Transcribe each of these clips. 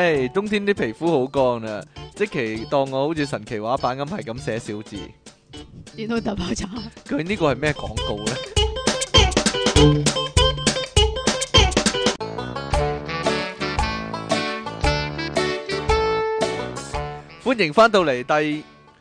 唉，冬天啲皮膚好乾啊，即期當我好似神奇畫板咁係咁寫小字。 電腦大爆炸。 佢呢個係咩廣告呢？歡迎翻到嚟第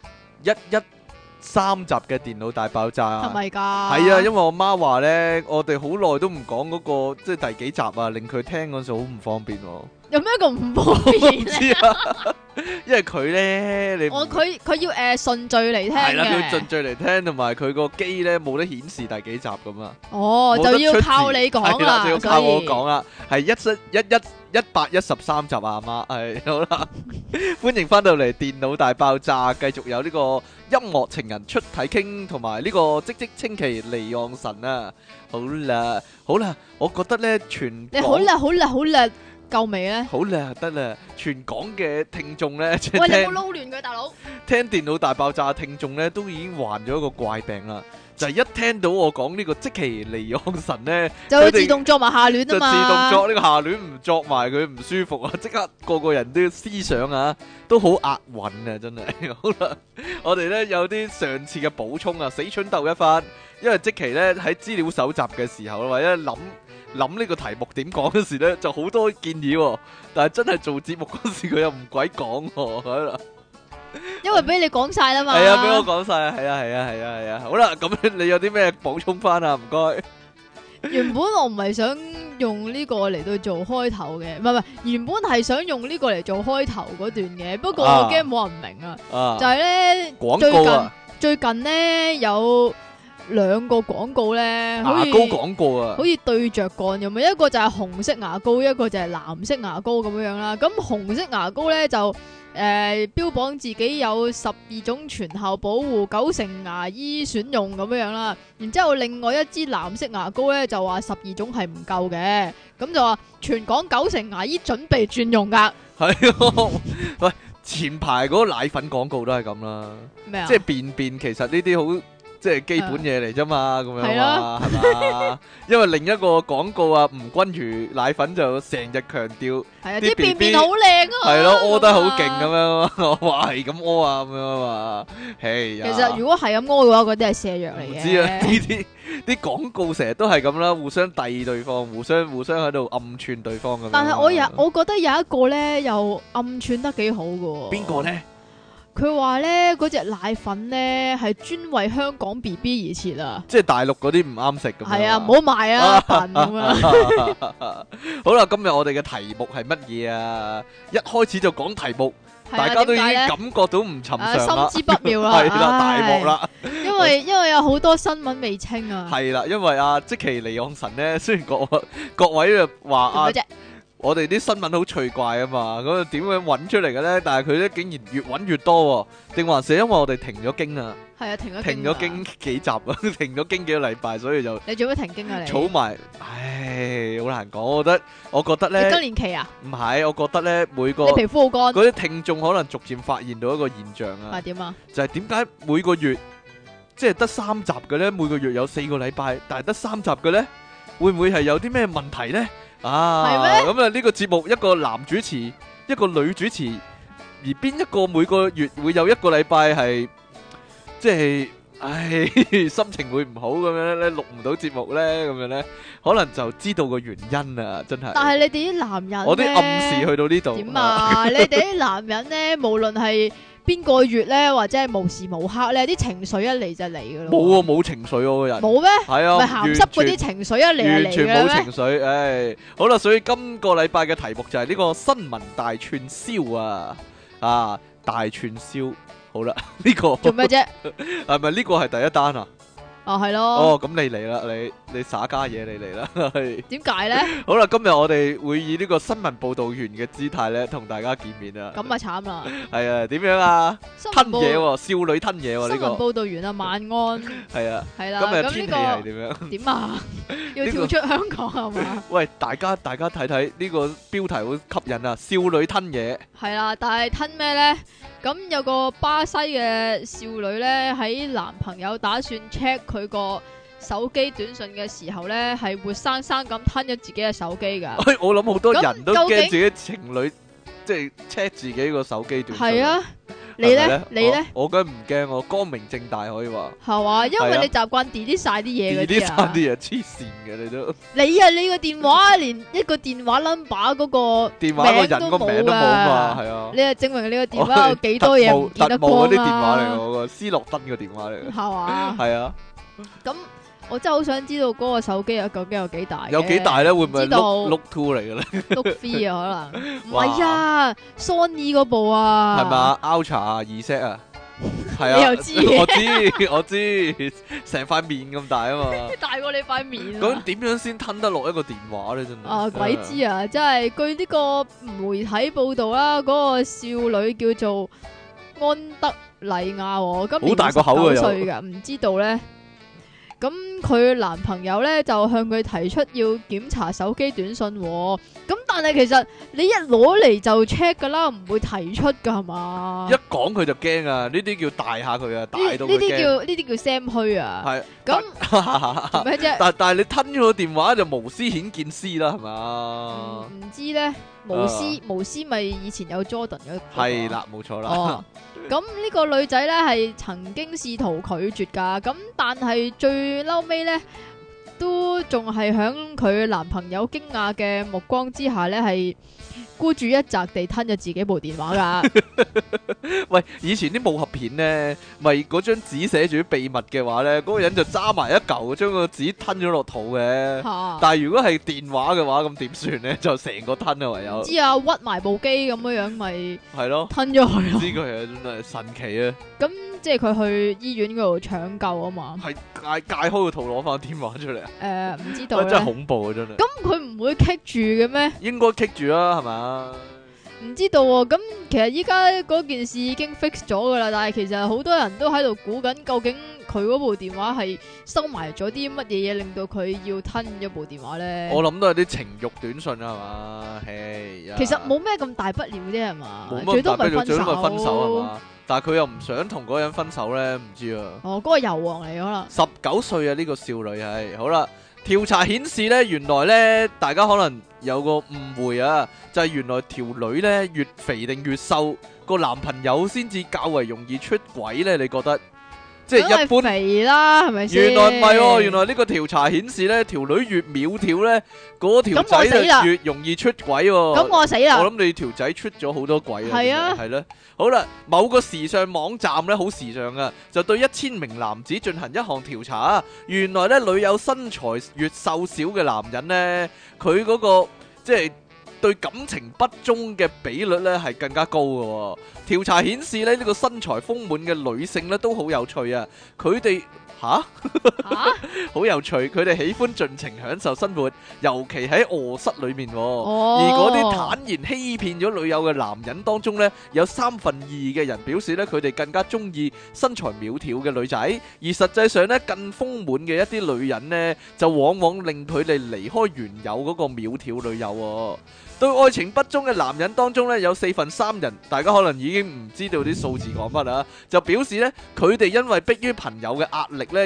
113集嘅電腦大爆炸。 係咪㗎？ 係啊，因為我媽話呢，我哋好耐都唔講嗰個即係第幾集啊，令佢聽嗰陣時好唔方便喎。 有咩咁唔方便知咧？ 啊，因為佢呢，你佢要順序嚟聽係啦，佢要嘅。 順序嚟聽，同埋佢個機呢冇得顯示第幾集咁啊。 哦，就要靠你講係啦，就要靠我講啦。 啦，係113集啊，阿媽，係好啦，歡迎翻到嚟電腦大爆炸，繼續有呢個音樂情人出體傾，同埋呢個積積清奇離岸神啊，好啦，好啦，我覺得呢全你好叻，好叻，好叻，夠未咧？ 好啦，得啦，全港嘅聽眾呢，即喂， 係你冇撈亂佢，大佬。 聽電腦大爆炸嘅聽眾呢，都已經患咗一個怪病啦，就係一聽到我講呢個積淇離岸神呢， 就會自動作埋下亂就自啊嘛。 動作呢個下聯唔作埋佢唔舒服啊！即刻個個人都思想啊，都好押韻啊！真係好啦，我哋呢有啲上次嘅補充啊，死蠢鬥一番，因為積淇呢喺資料搜集嘅時候，或者諗呢個題目點講嗰時呢，就好多建議喎，但係真係做節目嗰時佢又唔鬼講喎，係啦。 因為俾你講晒啦嘛。 係啊，俾我講晒啊！係啊！好啦，咁你有啲咩補充翻啊？唔該。 原本我唔係想用呢個嚟到做開頭嘅，唔係，原本係想用呢個嚟做開頭嗰段嘅，不過我驚冇人明啊。就係咧廣告啊， 最近咧有兩個廣告咧， 牙膏廣告啊， 好似對着幹咁樣，一個就係紅色牙膏，一個就係藍色牙膏咁樣啦。咁紅色牙膏咧就標榜自己有12種全效保護，9成牙醫選用咁樣啦。然之後另外一支藍色牙膏咧就話12種係唔夠嘅，咁就話全港9成牙醫準備轉用噶。 係喂，前排嗰個奶粉廣告都係咁啦， 咩啊？ 即係便其實呢啲好。即係基本嘢嚟啫嘛，咁樣嘛，係嘛？因為另一個廣告啊，吳君如奶粉就成日強調， 係啊， 啲啲便 BB 便好靚啊， 係咯，屙得好勁咁咁啊。 樣，我話係咁屙啊，咁樣嘛，其其實如果係咁屙嘅話，嗰啲係瀉藥嚟嘅。 唔知啊，呢啲廣告成日都係咁啦，互相遞對方，互相喺度暗串對方咁樣。 但係我覺得有一個咧又暗串得幾好嘅。 邊個咧？ 佢話咧嗰隻奶粉咧係專為香港 BB 而設啊！ 即係大陸嗰啲唔啱食咁樣。 係啊，唔好賣啊，笨咁啊！ 好啦，今日我哋嘅題目係乜嘢啊？一開始就講題目， 係啊大家都已經點解咧感覺到唔尋常啦， 心知不妙啦， 係啦，大唉鑊啦， 因為有好多新聞未清啊。 係啦，因為啊，積淇離岸神咧，雖然各位就話啊做。咩啫？ 我哋啲新聞好趣怪啊嘛，咁點樣揾出嚟嘅咧？但係佢咧竟然越揾越多喎，定還是因為我哋停咗經啊？ 係啊，停停咗經幾集啊，停咗經幾個禮拜，所以就你做咩停經啊？你儲埋，唉，好難講。我覺得你更咧， 年期啊？ 唔係，我覺得咧每個你皮膚好乾， 嗰啲聽眾可能逐漸發現到一個現象啊， 係點啊？ 就係點解每個月即係得3集嘅咧？每個月有4個禮拜，但係得3集嘅咧，會唔會係有啲咩問題咧？啊， 係咩？ 咁啊呢個節目一個男主持，一個女主持，而邊一個每個月會有1個禮拜係即係，唉，心情會唔好咁樣咧，錄唔到節目咧，咁樣咧，可能就知道個原因啊，真係。 但係你哋啲男人我啲暗示去到呢度。 點啊？你哋啲男人咧，無論係邊個月咧，或者係無時無刻咧，啲情緒一嚟就嚟噶咯。 冇啊，冇情緒我個人。 冇咩？ 係啊， 咪鹹濕嗰啲情緒一嚟就完嚟全冇嘅咩？ 情緒，唉，好啦，所以今個禮拜嘅題目就係呢個新聞大串燒啊，大串燒，好啦，呢個做咩啫？ 係咪呢個係第一單啊？ 哦，係咯。 哦，咁你嚟啦，你耍家嘢，你嚟啦，係點解咧？ 好啦，今日我哋會以呢個新聞報導員嘅姿態咧，同大家見面啊。 咁啊慘啦！ 係啊，點樣啊？ 新聞吞嘢報喎，少女吞嘢喎，呢新聞個報導員啊，晚安。 係啊。 係啦， 今日咁天氣呢係點樣？ 個點啊？要跳出香港係嘛？ 喂，大家睇睇呢個標題好吸引啊！少女吞嘢。 係啦，但係吞咩咧？咁有個巴西嘅少女咧，喺男朋友打算 check 佢個手機短信嘅時候咧，係活生生咁吞咗自己嘅手機噶。 我諗好多人都咁究竟驚自己情侶即係 check 自己個手機短信。 係啊，你係咪咧？你咧？ 我梗唔驚，我光明正大可以話。 係嘛？因為係啊你習慣 delete 晒啲嘢嗰啲啲啊。 差啲嘢黐線嘅你都， 你啊，你個電話連一個電話 number 嗰個電話個人個名都冇嘛， 啊！ 係啊。 你係證明你個電話有幾多嘢唔見得特務嗰光啲電話嚟嘅， 啊？ 嗰個斯諾登嘅電話嚟嘅。 係嘛？ 係啊， 咁我真係好想知道嗰個手機啊，究竟有幾大嘅？ 有幾大咧？會唔會係知道 Look 2嚟嘅咧？ Look 3啊，可能唔哇係啊，Sony 嗰部啊， 係嘛？Ultra 啊，2set 啊，係啊， 你又知嘅我知，成塊面咁大啊嘛。 大過你塊面咁啊！ 點樣先吞得落一個電話咧？真係啊，鬼知啊！真係據呢個媒體報道啦，嗰個少女叫做安德麗亞喎，今年好大個口啊 19歲㗎，唔知道咧。咁佢男朋友咧就向佢提出要檢查手機短信喎，咁但係其實你一攞嚟就 check 噶啦，唔會提出噶係嘛？ 一講佢就驚啊！呢啲叫大下佢啊，大呢到佢驚。 呢啲叫 Sam 虛啊！ 係咁做咩啫？ 但係你吞咗個電話就無私顯見私啦，係嘛？ 唔知咧，無私咪以前有 Jordan 嗰個係啦，冇錯啦。 哦，咁呢個女仔咧係曾經試圖拒絕噶，咁但係最嬲尾咧都仲係響佢男朋友驚訝嘅目光之下咧，係孤注一擲地吞咗自己部電話噶。 喂，以前啲武俠片咧，咪嗰張紙寫住秘密嘅話咧，嗰個人就揸埋一嚿，將個紙吞咗落肚嘅。 嚇但係如果係電話嘅話，咁點算咧？就成個吞啊，唯有知啊，屈埋部機咁樣樣咪係咯。 吞咗佢咯。 呢個係真係神奇啊！ 咁即係佢去醫院嗰度搶救啊嘛。 係解開個肚攞翻電話出嚟啊！ 唔知道真係咧。 恐怖啊！真係。 咁佢唔會棘住嘅咩？ 應該棘住啦，係嘛？ 唔知道喎，咁其實依家嗰件事已經 fix 咗噶啦，但係其實好多人都喺度估緊，究竟佢嗰部電話係收埋咗啲乜嘢嘢，令到佢要吞咗部電話咧？ 我諗都係啲情慾短信啊，係嘛？嘿呀其實冇咩咁大不了啫，係嘛？ 冇乜最多咪分大不了最多咪分手係手。 嘛？但係佢又唔想同嗰個人分手咧，唔知啊。 哦，嗰個油王嚟可能。 19歲啊，呢個少女係好啦。調查顯示咧，原來咧大家可能有個誤會啊，就係原來條女咧越肥定越瘦，個男朋友先至較為容易出軌咧？你覺得？即係一般。 梗係肥啦，係咪先？ 原來唔係喎，原來呢個調查顯示咧，條女越苗條咧，嗰條咁我死啦仔就越容易出軌喎。 咁我死啦。 我諗你條仔出咗好多軌啊！ 係啊係咧。好啦，某個時尚網站咧好時尚啊，就對1000名男子進行一項調查啊。原來咧，女友身材越瘦小嘅男人咧，佢嗰個即係對感情不忠嘅比率咧係更加高嘅喎。調查顯示咧，呢個身材豐滿嘅女性咧都好有趣啊，佢哋好有趣，佢哋喜歡盡情享受生活，尤其喺卧室裏面喎。而嗰啲坦然欺騙咗女友嘅男人當中呢，有2/3嘅人表示呢，佢哋更加中意身材苗條嘅女仔，而實際上呢，更豐滿嘅一啲女人呢，就往往令佢哋離開原有嗰個苗條女友喎。對愛情不忠嘅男人當中呢，有3/4人，大家可能已經唔知道啲數字講乜啦，就表示呢，佢哋因為迫於朋友嘅壓力呢，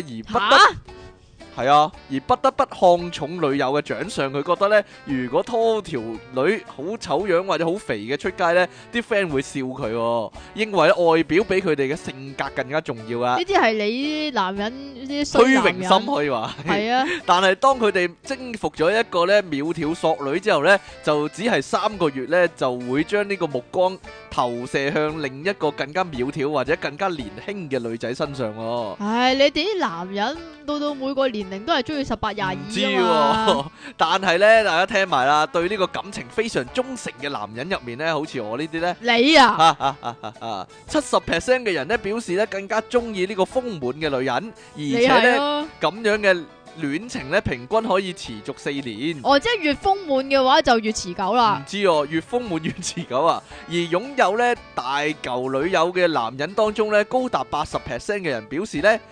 而不得不看重女友嘅長相。佢覺得呢，如果拖條女好醜樣或者好肥嘅出街呢，啲 friend 會笑佢喎，認為外表比佢哋嘅性格更加重要啊！ 呢啲係你男人啲衰虛男人榮心可以話係啊。 但係當佢哋征服咗一個咧苗條索女之後呢，就只係3個月呢，就會將呢個目光投射向另一個更加苗條或者更加年輕嘅女仔身上喎。 唉，你哋啲男人到每個年齡都係中意18、22 唔知啊嘛。 喎，但係呢，大家聽埋啦，對呢個感情非常忠誠嘅男人入面呢，好似我呢啲呢。 你啊， 70% 嘅人呢表示呢更加中意呢個豐滿嘅女人，而你且呢， 係咯。 咁樣嘅戀情呢，平均可以持續4年。 哦，即係越豐滿嘅話就越持久啦唔。知哦，越豐滿越持久啊！而擁有呢大嚿女友嘅男人當中呢，高達80%嘅人表示呢，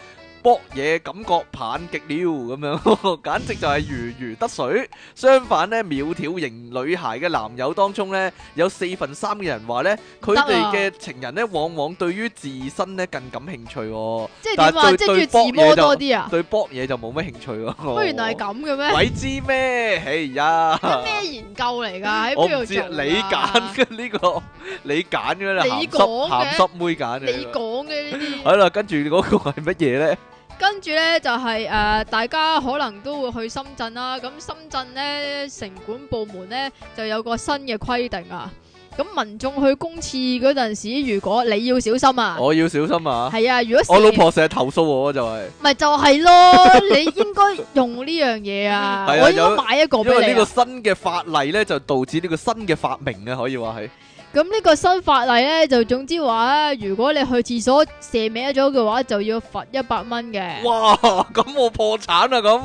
搏嘢感覺棒極了咁樣，簡直就係如魚得水。相反呢，苗條型女孩嘅男友當中呢，有4分3嘅人話呢，佢哋嘅情人呢，往往對於自身呢更感興趣喎。 即係點啊？即係要自摸多啲啊？ 對搏嘢就冇乜興趣喎。 乜原來係咁嘅咩？ 鬼知咩？哎呀！ 咩研究嚟㗎？喺我唔知邊度做㗎？ 你揀嘅呢個，你揀嘅啦， 你講嘅鹹濕妹揀嘅。 你講嘅呢啲。 好啦，跟住嗰個係乜嘢咧？ 跟住呢，就係大家可能都會去深圳啦。咁深圳呢，城管部門呢，就有個新嘅規定啊。咁民眾去公廁嗰陣時，如果你要小心啊， 我要小心啊！ 係啊，如果我老婆成日投訴我就係， 咪就係咯，你應該用呢樣嘢啊！ 係啊我應該買一個俾你啊。 因為呢個新嘅法例咧，就導致呢個新嘅發明啊，可以話係。 咁呢個新法例咧，就總之話咧，如果你去廁所射歪咗嘅話，就要罰100蚊嘅。 哇！咁我破產啊咁。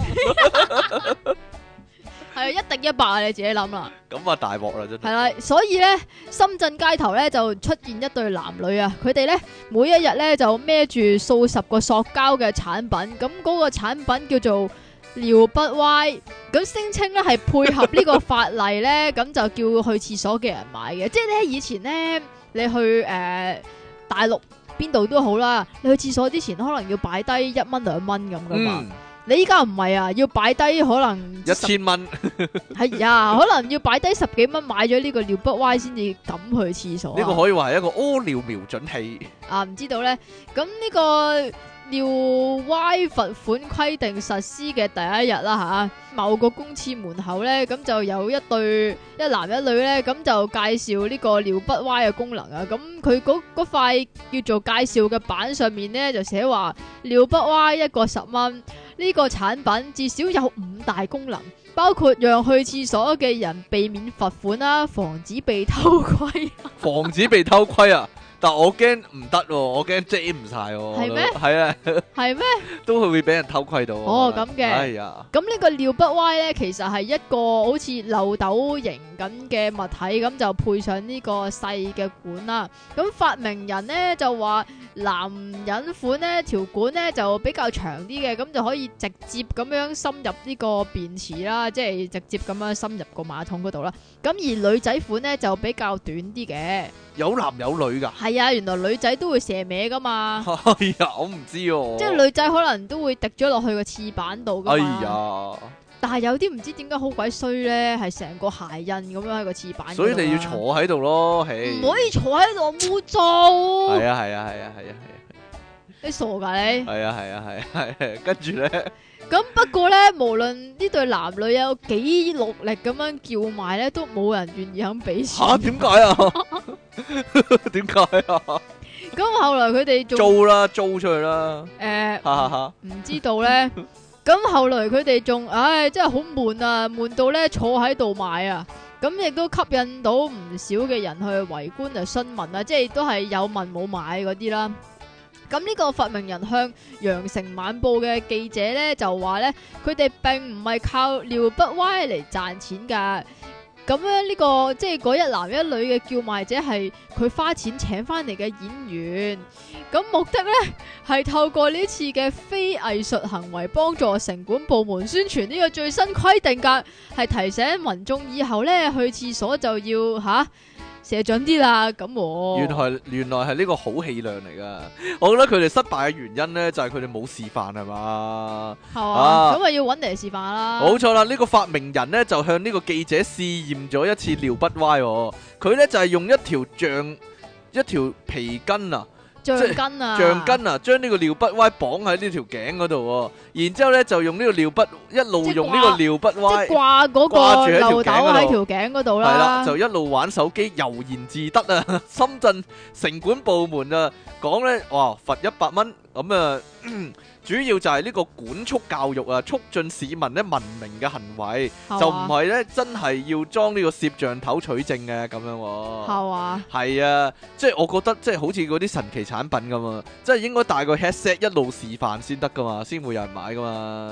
係啊，一定100啊！你自己諗啦。 咁啊大鑊啦真係。 係啦，所以咧，深圳街頭咧就出現一對男女啊，佢哋咧每一日咧就孭住數十個塑膠嘅產品，咁嗰個產品叫做尿不歪，咁聲稱咧係配合呢個法例咧，咁就叫去廁所嘅人買嘅。即係咧以前咧，你去大陸邊度都好啦，你去廁所之前可能要擺低1蚊2蚊咁噶嘛。你依家唔係啊，要擺低可能 1000蚊， 係啊，可能要擺低10幾蚊買咗呢個尿不歪先至敢去廁所。 呢個可以話係一個屙尿瞄準器。 啊，唔知道咧，咁呢個尿歪罰款規定實施嘅第一日啦吓，某個公廁門口咧，咁就有一男一女咧，咁就介紹呢個尿不歪嘅功能啊。咁佢嗰塊叫做介紹嘅板上面咧，就寫話尿不歪一個10蚊。呢個產品至少有5大功能，包括讓去廁所嘅人避免罰款啦，防止被偷窺。 防止被偷窺啊！但我驚唔得喎，我驚遮唔晒喎。 係咩？ 係啊， 係咩？ 都會俾人偷窺到。 哦，咁嘅。 哎呀， 咁呢個尿不歪咧，其實係一個好似漏斗形咁嘅物體，咁就配上呢個細嘅管啦。咁發明人咧就話，男人款呢條管咧就比較長啲嘅，咁就可以直接咁樣深入呢個便池啦，即係直接咁樣深入個馬桶嗰度啦。咁而女仔款咧就比較短啲嘅。 有男有女噶？ 係啊，原來女仔都會射歪噶嘛。 哎呀，我唔知喎。 即係女仔可能都會滴咗落去個廁板度噶嘛。 哎呀！ 但係有啲唔知點解好鬼衰咧，係成個鞋印咁樣喺個廁板。 所以你要坐喺度咯， 唔可以坐喺度污糟。 係啊係啊係啊係啊係啊！ 你傻噶你？ 係啊係啊係啊係啊！跟住咧。 咁不過咧，無論呢對男女有幾努力咁樣叫賣咧，都冇人願意肯俾錢。 吓？點解啊？點解啊？ 咁後來佢哋租啦，租出去啦。 唔知道咧。咁後來佢哋仲，唉，真係好悶啊，悶到咧坐喺度買啊。咁亦都吸引到唔少嘅人去圍觀嚟詢問啊，即係都係有問冇買嗰啲啦。咁呢個發明人向羊城晚報嘅記者咧就話咧，佢哋並唔係靠尿不歪嚟賺錢噶。咁樣呢個即係嗰一男一女嘅叫賣者係佢花錢請翻嚟嘅演員。咁目的咧係透過呢次嘅非藝術行為，幫助城管部門宣傳呢個最新規定噶，係提醒民眾以後咧去廁所就要射準啲啦，咁原來係呢個好氣量嚟噶。我覺得佢哋失敗嘅原因咧，就係佢哋冇示範係嘛。 係啊，咁咪要揾嚟示範啦。 冇錯啦，呢個發明人咧就向呢個記者試驗咗一次尿不歪。佢咧就係用一條皮筋啊。 橡筋啊， 將呢個尿不歪綁喺呢條頸嗰度，然之後咧就用呢個尿不一路用呢個尿不歪即係掛嗰個漏斗喺條頸嗰度啦， 係啦，就一路玩手機悠然自得啊！深圳城管部門啊講咧，哇罰100蚊咁啊！主要就係呢個管束教育啊，促進市民咧文明嘅行為，就唔係咧真係要裝呢個攝像頭取證嘅咁樣。 係啊， 係啊，即係我覺得即係好似嗰啲神奇產品咁啊，即係應該帶個 headset 一路示範先得噶嘛，先會有人買噶嘛。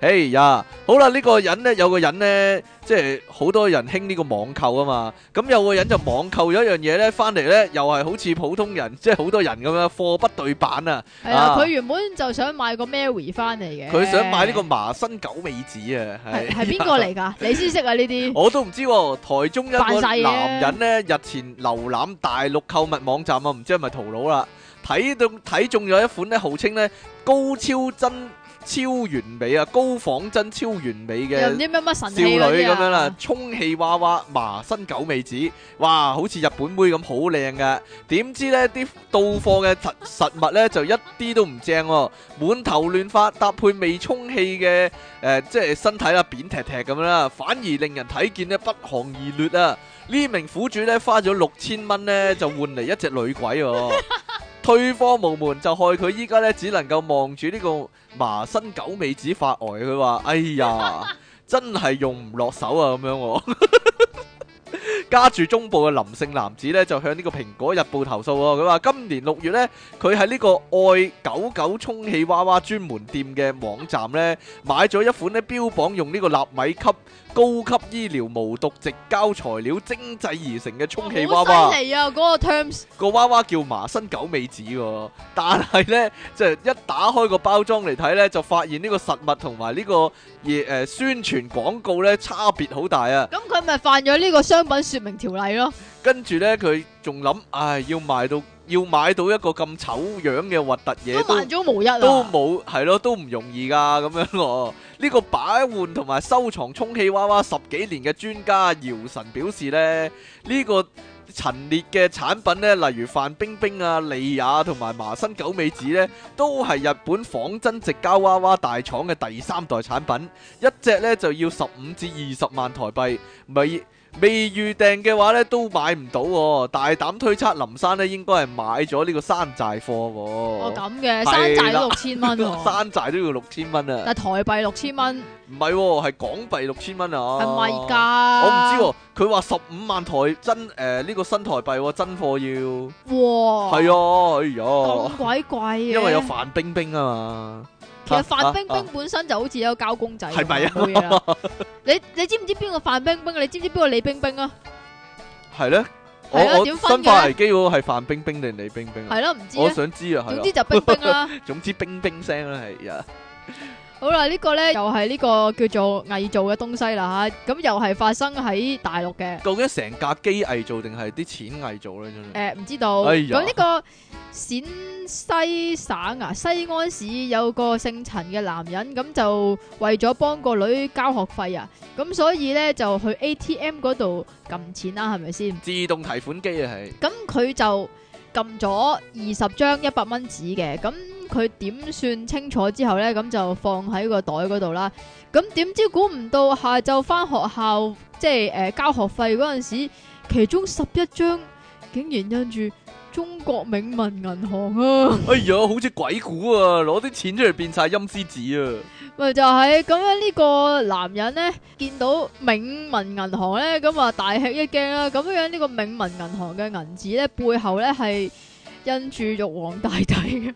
哎呀，好啦，呢個人呢，有個人呢，即係好多人興呢個網購啊嘛。咁有個人就網購咗一樣嘢呢，翻嚟呢，又係好似普通人，即係好多人咁樣貨不對版啊。 係啊，佢原本就想買個 Mary 翻嚟嘅。 佢想買呢個麻生九尾子啊。 係邊個嚟㗎？你先識啊呢啲。 我都唔知喎。台中一個男人呢，日前瀏覽大陸購物網站啊，唔知係咪淘佬啦，睇中咗一款呢，號稱呢高超真超完美啊，高仿真超完美嘅又唔知乜神少女咁樣啦， 啊， 充氣娃娃麻生九尾子，哇，好似日本妹咁好靚噶。點知呢啲到貨嘅實物呢，就一啲都唔正喎，滿頭亂髮，搭配未充氣嘅即係身體啦，扁踢踢咁樣啦，反而令人睇見呢不寒而栗啊！呢名苦主呢，花咗6000蚊呢，就換嚟一隻女鬼喎。退貨無門，就害佢依家咧只能夠望住呢個麻生九尾子發呆。佢話：哎呀，真係用唔落手啊！咁樣喎。家住中部嘅林姓男子咧，就向呢個《蘋果日報》投訴喎。佢話今年6月咧，佢喺呢個愛99充氣娃娃專門店嘅網站咧，買咗一款咧標榜用呢個納米級高級醫療無毒矽膠材料精製而成嘅充氣娃娃。 好犀利啊！嗰個 terms 個娃娃叫麻生九尾子喎，但係咧就一打開個包裝嚟睇咧，就發現呢個實物同埋呢個宣傳廣告咧差別好大啊！ 咁佢咪犯咗呢個商品說明條例咯？ 跟住咧佢仲諗，唉，要買到一個咁醜樣嘅核突嘢都萬中無一啊！ 都冇，係咯，都唔容易噶咁樣喎。呢個擺換同埋收藏充氣娃娃10幾年嘅專家姚晨表示咧，呢個陳列嘅產品咧，例如范冰冰啊、莉亞同埋麻生九尾子咧，都係日本仿真矽膠娃娃大廠嘅第3代產品，一隻咧就要15至20萬台幣，未預訂嘅話咧都買唔到喎。大膽推測林生咧應該係買咗呢個山寨貨喎。 哦，咁嘅山寨都6000蚊喎， 山寨都要6000蚊啊！ 但係台幣6000蚊， 唔係喎，係港幣6000蚊啊！ 係咪㗎？ 我唔知喎，佢話15萬台真呢個新台幣喎，真貨要。 哇！ 係啊，哎呀， 咁鬼貴嘅， 因為有范冰冰啊嘛。 其實范冰冰本身就好似有個膠公仔， 係咪啊？ 冇嘢啦。你知唔知邊個范冰冰？你知唔知邊個李冰冰啊？ 係咧， 係啊， 我點分生化危嘅？ 機嗰個係范冰冰定李冰冰啊？ 係咯，唔知我啊。 想知啊，係咯。 總之就冰冰啦。 總之冰冰聲啦，係啊。 好啦，呢個咧又係呢個叫做偽造嘅東西啦吓，咁又係發生喺大陸嘅。 究竟成架機偽造定係啲錢偽造咧？真係。 唔知道。 哎呀咁呢個陝西省啊，西安市有個姓陳嘅男人，咁就為咗幫個女交學費啊，咁所以咧就去 ATM 嗰度撳錢啦，係咪先？ 自動提款機啊，係。 咁佢就撳咗20張100蚊紙嘅，咁佢點算清楚之後呢，咁就放喺個袋嗰度啦。咁點知估唔到下晝翻學校，即係交學費嗰陣時，其中11張竟然印住中國銘民銀行啊！ 哎呀，好似鬼故啊！攞啲錢出嚟變晒陰司紙啊！ 咪就係咁樣，呢個男人呢，見到銘民銀行呢，咁啊大吃一驚啦！咁樣呢個銘民銀行嘅銀紙呢，背後呢係印住玉皇大帝嘅。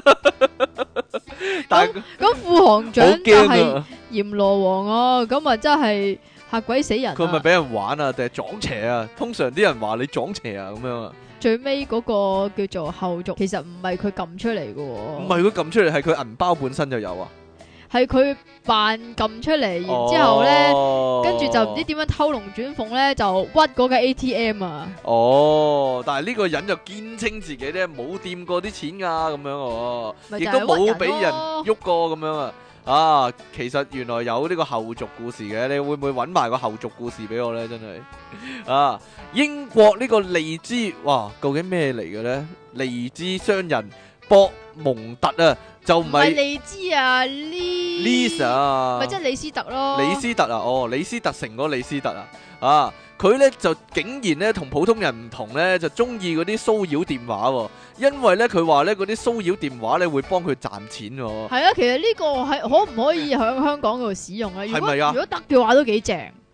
咁副行長就係閻羅王啊！咁啊真係嚇鬼死人啊！ 佢咪俾人玩啊，定係撞邪啊？通常啲人話你撞邪啊，咁樣啊。 最尾嗰個叫做後續，其實唔係佢撳出嚟嘅喎。 唔係佢撳出嚟，係佢銀包本身就有啊。 係佢扮撳出嚟，然之後咧，跟住就唔知點樣偷龍轉鳳咧，就屈嗰個 ATM 啊！ 哦，但係呢個人就堅稱自己咧冇掂過啲錢噶，咁樣哦，亦都冇俾人喐過咁樣啊！啊，其實原來有呢個後續故事嘅，你會唔會揾埋個後續故事俾我咧？真係啊！英國呢個利茲，哇，究竟咩嚟嘅咧？利茲商人博蒙特啊！就唔係利茲啊，Lisa，咪即係李斯特咯。 李斯特啊，哦，李斯特城嗰個李斯特啊，啊，佢咧就竟然咧同普通人唔同咧，就中意嗰啲騷擾電話喎，因為咧佢話咧嗰啲騷擾電話咧會幫佢賺錢喎。係啊，其實呢個係可唔可以喺香港度使用咧？ 係咪啊？ 如果得嘅話都幾正。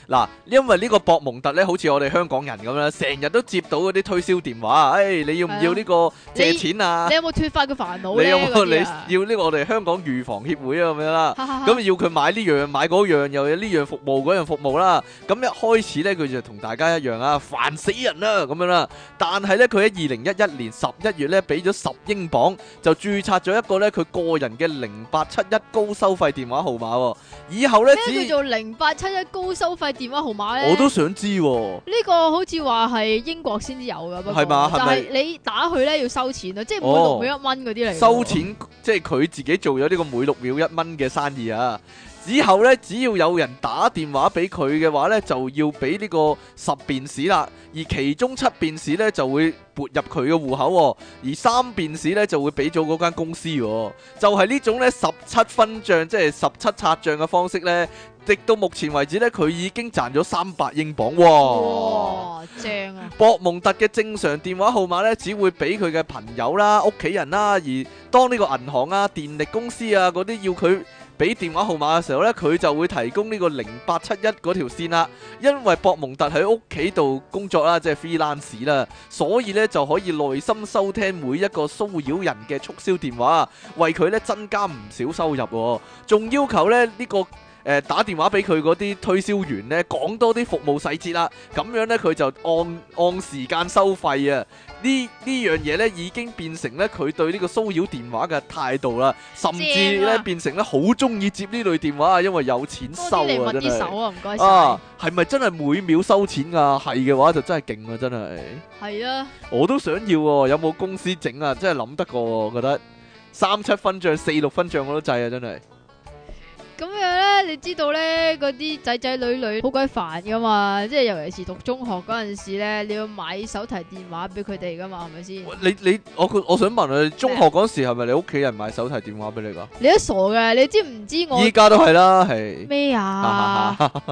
嗱，因為呢個博蒙特咧，好似我哋香港人咁啦，成日都接到嗰啲推銷電話，你要唔要呢個借錢啊？ 你有冇脫發嘅煩惱咧？ 你有冇你嗰啲啊要呢個我哋香港預防協會啊咁樣啦？咁咁要佢買呢樣買嗰樣，又有呢樣服務嗰樣服務啦。咁一開始咧，佢就同大家一樣啊，煩死人啦咁樣啦。但係咧，佢喺2011年11月咧，俾咗10英鎊就註冊咗一個咧佢個人嘅0871高收費電話號碼喎。以後咧， 咩叫做0871高收費電話號碼咧？ 我都想知喎。 呢個好似話係英國先至有噶，不過係嘛係咪但係你打去咧要收錢啊，即係每6秒1蚊嗰啲嚟。 收錢即係佢自己做咗呢個每6秒1蚊嘅生意啊！之後咧，只要有人打電話俾佢嘅話咧，就要俾呢個10便士啦，而其中7便士咧就會撥入佢嘅戶口喎，而3便士咧就會俾咗嗰間公司喎。就係呢種咧17分賬，即係17拆賬嘅方式咧，直到目前為止咧，佢已經賺咗300英鎊喎。 哇，正啊！ 博蒙特嘅正常電話號碼咧，只會俾佢嘅朋友啦、屋企人啦，而當呢個銀行啊、電力公司啊嗰啲要佢俾電話號碼嘅時候呢，佢就會提供呢個0871嗰條線啦。因為博蒙特喺屋企度工作啦，即係 freelance 啦，所以呢就可以耐心收聽每一個騷擾人嘅促銷電話，為佢呢增加唔少收入喎。仲要求呢呢個打電話俾佢嗰啲推銷員呢，講多啲服務細節啦，咁樣呢，佢就按時間收費啊！呢樣嘢呢已經變成呢佢對呢個騷擾電話嘅態度啦，甚至呢變成呢好中意接呢類電話啊，因為有錢收啊！真係手啊，唔該晒。 啊，係咪真係每秒收錢啊？係嘅話就真係勁啊！真係係啊， 我都想要喎，有冇公司整啊？真係諗得過喎，我覺得37分賬、46分賬我都制啊！真係。 咁樣咧，你知道咧，嗰啲仔仔女女好鬼煩噶嘛，即係尤其是讀中學嗰陣時咧，你要買手提電話俾佢哋噶嘛，係咪先？ 我想問你，中學嗰時係咪你屋企人買手提電話俾你噶？ 你都傻嘅，你知唔知我？ 依家都係啦，係咩啊？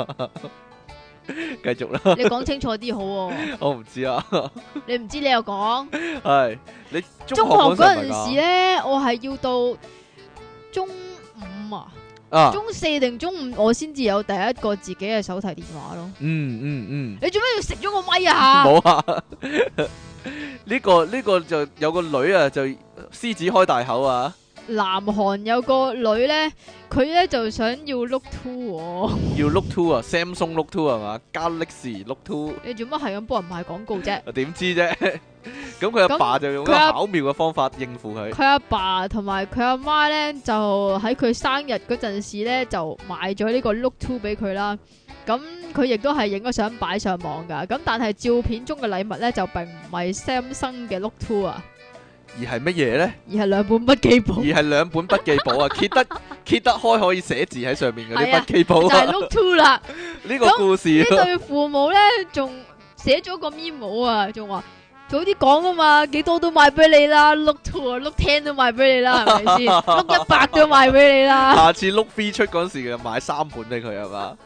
繼續啦。 你講清楚啲好喎。 我唔知啊。 你唔知你又講。 係你中學嗰陣時咧，我係要到中5啊。中4定中5我先至有第一個自己嘅手提電話咯。你做咩要食咗個咪啊？ 冇啊！呢個就有個女啊，就獅子開大口啊！ 南韓有個女咧，佢咧就想要 Look 2， 要 Look 2啊 ，Samsung Look 2係嘛？Galaxy Look 2。 你做乜係咁幫人賣廣告啫？ 我點知啫？咁佢阿爸就用一個巧妙嘅方法應付佢。 佢阿爸同埋佢阿媽咧，就喺佢生日嗰陣時咧，就買咗呢個 Look 2俾佢啦。咁佢亦都係影咗相擺上網噶。咁但係照片中嘅禮物咧，就並唔係 Samsung 嘅 Look 2啊。 而係乜嘢咧？ 而係兩本筆記簿。 而係兩本筆記簿啊！揭得開可以寫字喺上面嗰啲筆記簿。 就係 Look 2啦。 呢個故事。 呢對父母咧，仲寫咗個 memo 啊，仲話早啲講啊嘛，幾多都賣俾你啦。Look 2啊，Look 10都賣俾你啦，係咪先？Look 100都賣俾你啦。下次 Look 3出嗰時就買3本俾佢係嘛？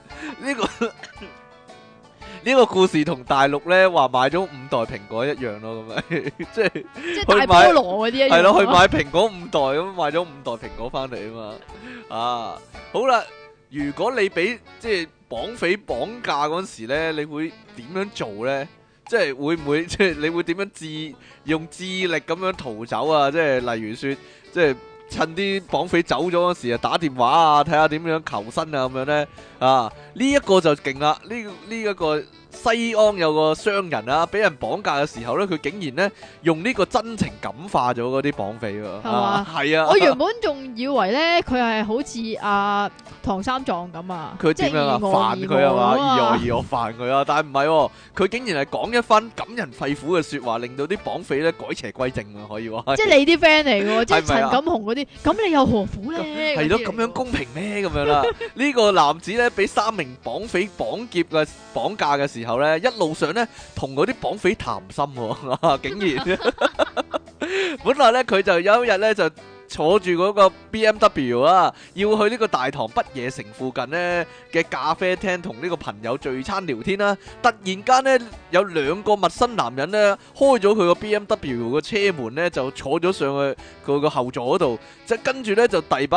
呢個故事同大陸咧話買咗5代蘋果一樣咯，咁樣即係大菠蘿嗰啲一樣。 係咯，去買蘋果5代咁買咗5代蘋果翻嚟啊嘛。啊，好啦，如果你俾即係綁匪綁架嗰時咧，你會點樣做咧？即係會唔會即係你會點樣用智力咁樣逃走啊？即係例如說，即係趁啲綁匪走咗嗰時啊，打電話啊，睇下點樣求生啊咁樣咧。啊，呢一個就勁啦！呢一個西安有個商人啊，俾人綁架嘅時候咧，佢竟然咧用呢個真情感化咗嗰啲綁匪喎。係嘛？係啊！ 我原本仲以為咧佢係好似唐三藏咁啊， 佢點樣啊？煩佢係嘛？而我煩佢啊！但係唔係喎，佢竟然係講一番感人肺腑嘅説話，令到啲綁匪咧改邪歸正啊！可以話。即係你啲 friend 嚟嘅喎，即係陳錦鴻嗰啲。咁你又何苦咧？係咯，咁樣公平咩？咁樣啦。呢個男子咧俾3名綁匪綁架嘅時候咧，一路上咧同嗰啲綁匪談心喎，竟然。本來咧佢就有一日咧就坐住嗰個 BMW 啊，要去呢個大堂不夜城附近呢嘅咖啡廳同呢個朋友聚餐聊天啦。突然間呢，有2個陌生男人呢開咗佢個 BMW 個車門呢，就坐咗上去佢個後座嗰度，即係跟住呢就遞把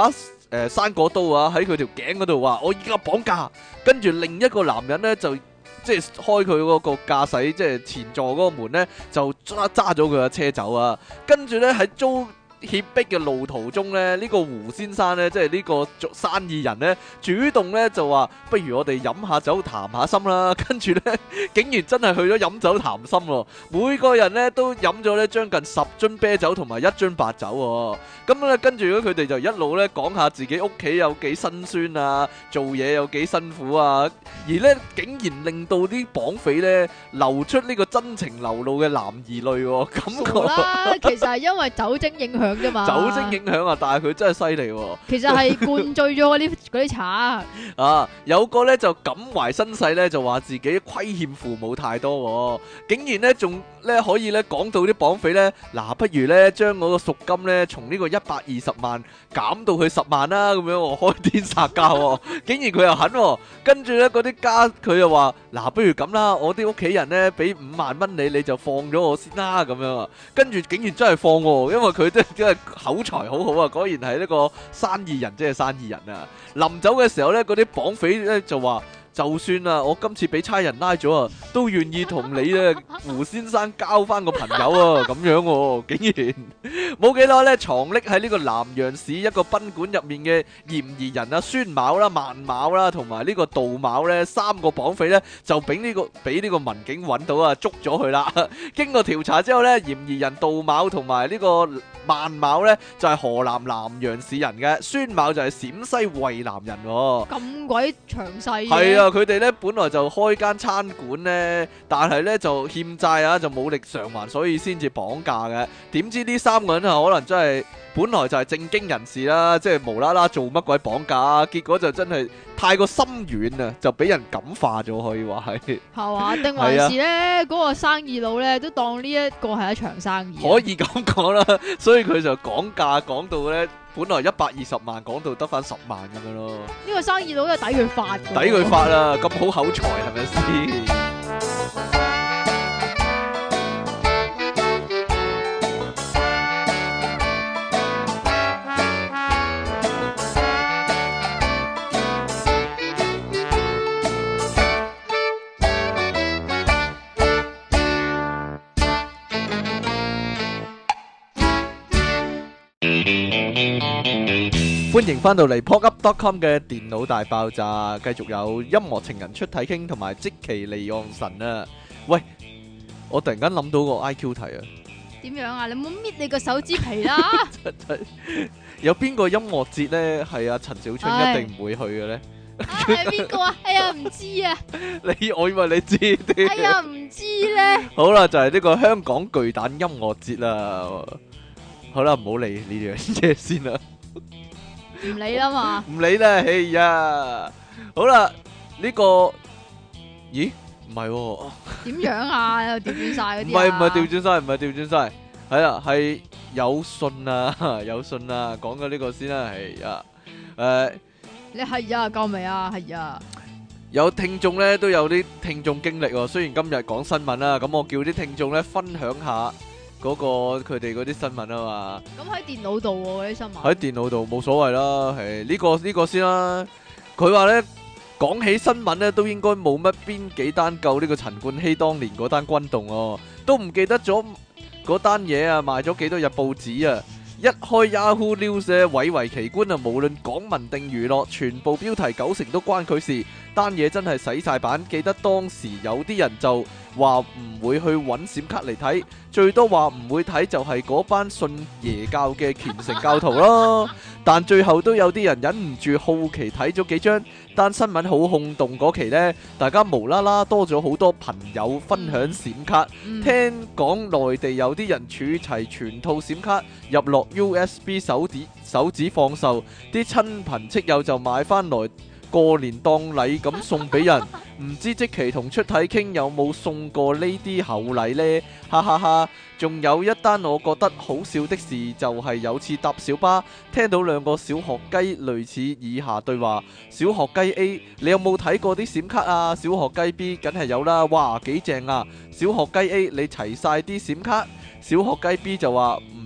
生果刀啊喺佢條頸嗰度話我依家綁架，跟住另一個男人咧就即係開佢嗰個駕駛即係前座嗰個門咧就揸咗佢嘅車走啊，跟住咧喺遭脅迫嘅路途中咧，呢個胡先生咧，即係呢個生意人咧，主動咧就話：不如我哋飲下酒談下心啦。跟住咧，竟然真係去咗飲酒談心喎。每個人咧都飲咗咧將近10樽啤酒同埋1樽白酒喎。咁咧跟住咧佢哋就一路咧講下自己屋企有幾辛酸啊，做嘢有幾辛苦啊。而咧竟然令到啲綁匪咧流出呢個真情流露嘅男兒淚喎，感傻覺。 啦，其實係因為酒精影響啫嘛。 酒精影響啊，但係佢真係犀利喎。 其實係灌醉咗嗰啲茶。 啊，有個咧就感懷身世咧，就話自己虧欠父母太多喎，竟然咧仲咧可以咧講到啲綁匪咧，嗱，不如咧將我個贖金咧從呢個120萬減到去10萬啦，咁樣喎，開天殺價喎，竟然佢又肯喎，跟住咧嗰啲家佢又話，嗱，不如咁啦，我啲屋企人咧俾5萬蚊你就放咗我先啦，咁樣啊，跟住竟然真係放喎，因為佢真係口才好好啊，果然係呢個生意人，即係生意人啊！臨走嘅時候咧，嗰啲綁匪咧就話：就算啊，我今次俾差人拉咗啊，都願意同你咧胡先生交翻個朋友啊！咁樣喎，竟然冇幾耐咧，藏匿喺呢個南洋市一個賓館入面嘅嫌疑人啊，孫某啦、萬某啦，同埋呢個杜某咧，3個綁匪咧就俾呢個民警揾到啊，捉咗佢啦。經過調查之後咧，嫌疑人杜某同埋呢個萬某咧就係河南南陽市人嘅，孫某就係陝西渭南人喎。 咁鬼詳細嘅。 係啊，佢哋咧本來就開間餐館咧，但係咧就欠債啊，就冇力償還，所以先至綁架嘅。點知呢3個人啊，可能真係本來就係正經人士啦，即係無啦啦做乜鬼綁架啊，結果就真係太過心軟啊，就俾人感化咗，可以話係。 係嘛？定還是咧嗰個生意佬咧都當呢一個係一場生意？ 可以咁講啦，所以佢就講價講到咧，本來120萬講到得翻10萬咁樣咯。 呢個生意佬都抵佢發㗎。 抵佢發啦，咁好口才係咪先？歡迎翻到嚟 popup.com 嘅電腦大爆炸，繼續有音樂情人出體傾同埋積淇離岸神啊！喂，我突然間諗到個 IQ 題啊！ 點樣啊？你冇搣你個手指皮啦！ 有邊個音樂節呢？係啊，陳小春一定唔會去嘅呢？ 係邊個啊？哎呀，唔知啊！ 我以為你知啲。 哎呀，唔知咧。 好啦，就係呢個香港巨蛋音樂節啦。好啦，唔好理呢樣嘢先啦。 唔理啦嘛， 唔理啦，哎呀，好啦，呢個，咦，唔係喎， 點樣啊？又調轉晒嗰啲， 唔係調轉晒，唔係調轉晒，係啊，係有信啊，有信啊，講咗呢個先啦，係啊， 你係啊，夠未啊？係啊， 有聽眾咧都有啲聽眾經歷喎，雖然今日講新聞啦，咁我叫啲聽眾咧分享下。嗰個佢哋嗰啲新聞啊嘛， 咁喺電腦度喎嗰啲新聞， 喺電腦度冇所謂啦，係呢個先啦。佢話咧講起新聞咧，都應該冇乜邊幾單夠呢個陳冠希當年嗰單轟動哦，都唔記得咗嗰單嘢啊，賣咗幾多日報紙啊！一開 Yahoo News 咧，蔚為奇觀啊！無論港聞定娛樂，全部標題90%都關佢事。單嘢真係洗晒版。記得當時有啲人就話唔會去揾閃卡嚟睇，最多話唔會睇就係嗰班信耶教嘅虔誠教徒咯。但最後都有啲人忍唔住好奇睇咗幾張。單新聞好轟動嗰期呢，大家無啦啦多咗好多朋友分享閃卡。聽講內地有啲人儲齊全套閃卡入落 USB 手指放售，啲親朋戚友就買翻來過年當禮咁送俾人。唔知積淇同出體傾有冇送過呢啲厚禮呢？哈哈哈！仲有一單我覺得好笑的事，就係有次搭小巴，聽到兩個小學雞類似以下對話：小學雞 A， 你有冇睇過啲閃卡啊？小學雞 B， 梗係有啦，哇幾正啊！小學雞 A， 你齊晒啲閃卡？小學雞 B 就話唔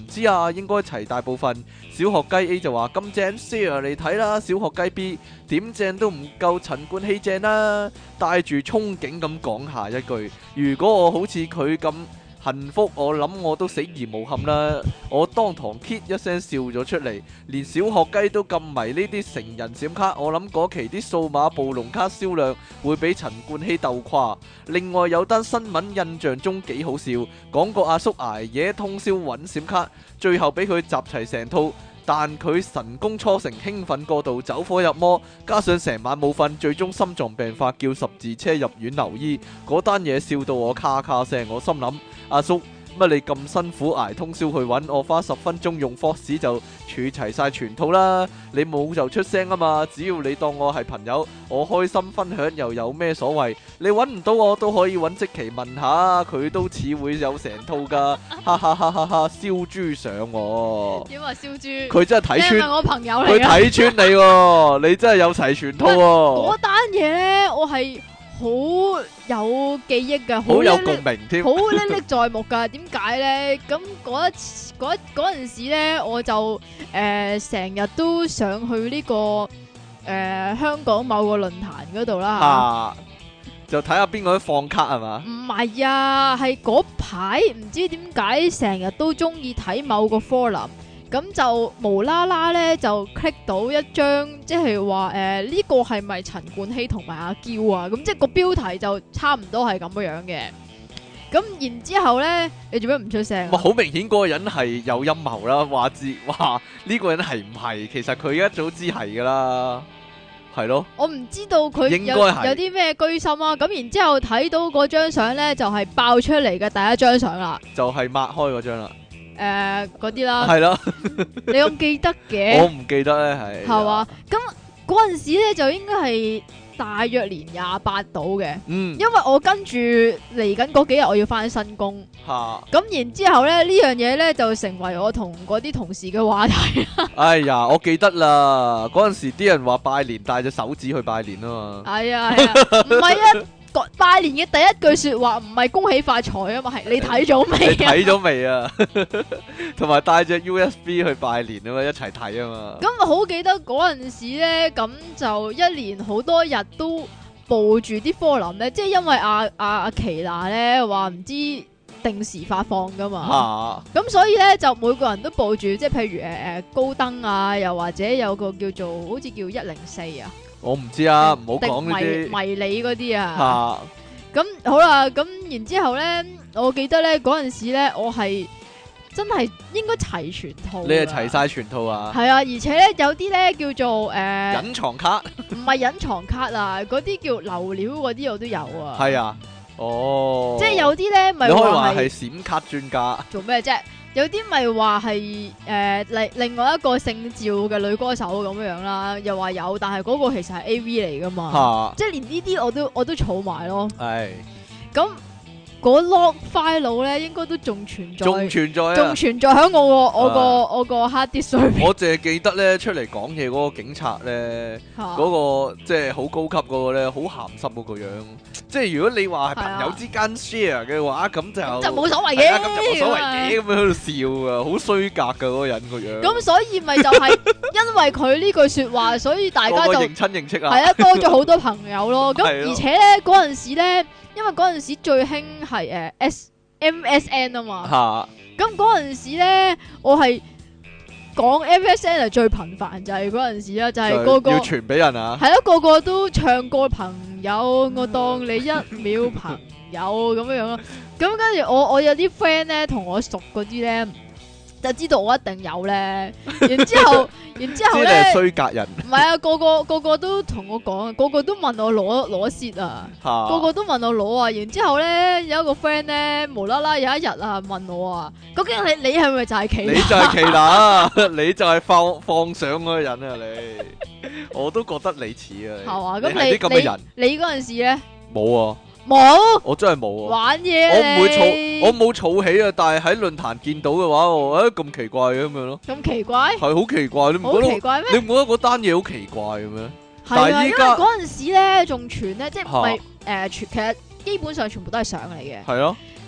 唔知啊，應該齊大部分。小學雞 A 就話咁正 share 嚟睇啦，小學雞 B 點正都唔夠陳冠希正啦。帶住憧憬咁講下一句，如果我好似佢咁幸福，我諗我都死而無憾啦！我當堂 kit 一聲笑咗出嚟，連小學雞都咁迷呢啲成人閃卡，我諗嗰期啲數碼暴龍卡銷量會比陳冠希鬥誇。另外有單新聞印象中幾好笑，講個阿叔捱夜通宵揾閃卡，最後俾佢集齊成套。但佢神功初成，興奮過度，走火入魔，加上成晚冇瞓，最終心臟病發，叫十字車入院留醫。嗰單嘢笑到我咔咔聲，我心諗阿叔乜你咁辛苦捱通宵去揾，我花10分鐘用 Fox 就儲齊晒全套啦。你冇就出聲啊嘛，只要你當我係朋友，我開心分享又有咩所謂？你揾唔到我都可以揾積淇問下，佢都似會有成套噶，哈哈哈哈哈！燒豬上我， 點話燒豬？ 佢真係睇穿， 你係咪我朋友嚟佢㗎？ 睇穿你喎，你真係有齊全套喎， 嗰單嘢咧，我係好有記憶㗎， 好有共鳴添。 好歷歷在目㗎。點解咧？咁嗰陣時咧，我就成日都上去呢個香港某個論壇嗰度啦。 啊，就睇下邊個放卡係嘛？ 唔係啊，係嗰排唔知點解成日都中意睇某個 forum，咁就無啦啦咧就 click 到一張，即係話呢個係咪陳冠希同埋阿嬌啊？咁即係個標題就差唔多係咁樣嘅。咁然之後咧，你做咩唔出聲啊？ 好明顯嗰個人係有陰謀啦，話呢個人係唔係？其實佢一早知係噶啦，係咯。 我唔知道佢應該有係啲咩居心啊。咁然之後睇到嗰張相咧，就係爆出嚟嘅第一張相啦。 就係抹開嗰張啦， 嗰啲啦， 係咯。 你咁記得嘅？ 我唔記得咧，係。 係嘛？咁嗰陣時咧就應該係大約年28到嘅， 嗯， 因為我跟住嚟緊嗰幾日我要翻新工， 嚇， 咁然之後咧呢樣嘢咧就成為我同嗰啲同事嘅話題。 哎呀，我記得啦，嗰陣時啲人話拜年帶隻手指去拜年啊嘛， 係啊係啊，唔係啊，拜年嘅第一句說話唔係恭喜發財啊嘛，係你睇咗未啊？ 你睇咗未啊？同埋帶隻 USB 去拜年啊嘛，一齊睇啊嘛。 咁我好記得嗰陣時咧，咁就一年好多日都報住啲科林咧，即係因為阿奇娜咧話唔知定時發放噶嘛，咁所以咧就每個人都報住，即係譬如高登啊，又或者有個叫做好似叫104啊， 我唔知啊，唔好講呢啲迷你嗰啲啊。咁好啦，咁然之後咧，我記得咧嗰陣時咧，我係真係應該齊全套。 你係齊晒全套啊？ 係啊，而且咧有啲咧叫做隱藏卡， 唔係隱藏卡啊，嗰啲叫流料嗰啲我都有啊。 係啊，哦， 即係有啲咧咪你可以話話係閃卡專家， 做咩啫？有啲咪話係另外一個姓趙嘅女歌手咁樣啦，又話有，但係嗰個其實係 A.V. 嚟噶嘛，即係連呢啲我都儲埋咯。 係咁嗰 log file 咧，應該都仲存在， 仲存在啊， 仲存在喺我個 hard disk 上面。 我淨係記得咧出嚟講嘢嗰個警察咧，嗰個即係好高級嗰個咧，好鹹濕嗰個樣。即係如果你話係朋友之間 share 嘅話，咁就冇所謂嘅， 咁就冇所謂嘅，咁樣喺度笑啊，好衰格噶嗰個人個樣。 咁所以咪就係因為佢呢句說話，所以大家就認親認戚啊， 係啊，多咗好多朋友咯。咁而且咧嗰陣時咧，因為嗰陣時最興係MSN 啊嘛。咁嗰陣時咧，我係講 MSN 係最頻繁，就係嗰陣時啦，就係個個要傳俾人啊。 係咯，個個都唱歌朋友，我當你一秒朋友咁樣樣咯。咁跟住我有啲 friend 咧，同我熟嗰啲咧，就知道我一定有咧。然之後咧，知你係衰格人。 唔係啊，個個都同我講，個個都問我攞蝕啊，個個都問我攞啊。然之後咧，有一個 friend 咧，無啦啦有一日啊問我啊，究竟你係咪就係奇？ 你就係奇娜，你就係放相嗰個人啊！你我都覺得你似啊。 係嘛？咁啲咁嘅人， 你嗰陣時咧冇啊。 冇， 我真係冇啊！ 玩嘢， 我唔會儲，我冇儲起啊！但係喺論壇見到嘅話，我咁奇怪嘅咁樣咯。 咁奇怪？ 係好奇怪，你唔覺得？ 好奇怪咩？ 你唔覺得嗰單嘢好奇怪嘅咩？ 係啊，因為嗰陣時咧仲傳咧，即係唔係傳，其實基本上全部都係相嚟嘅。 係咯。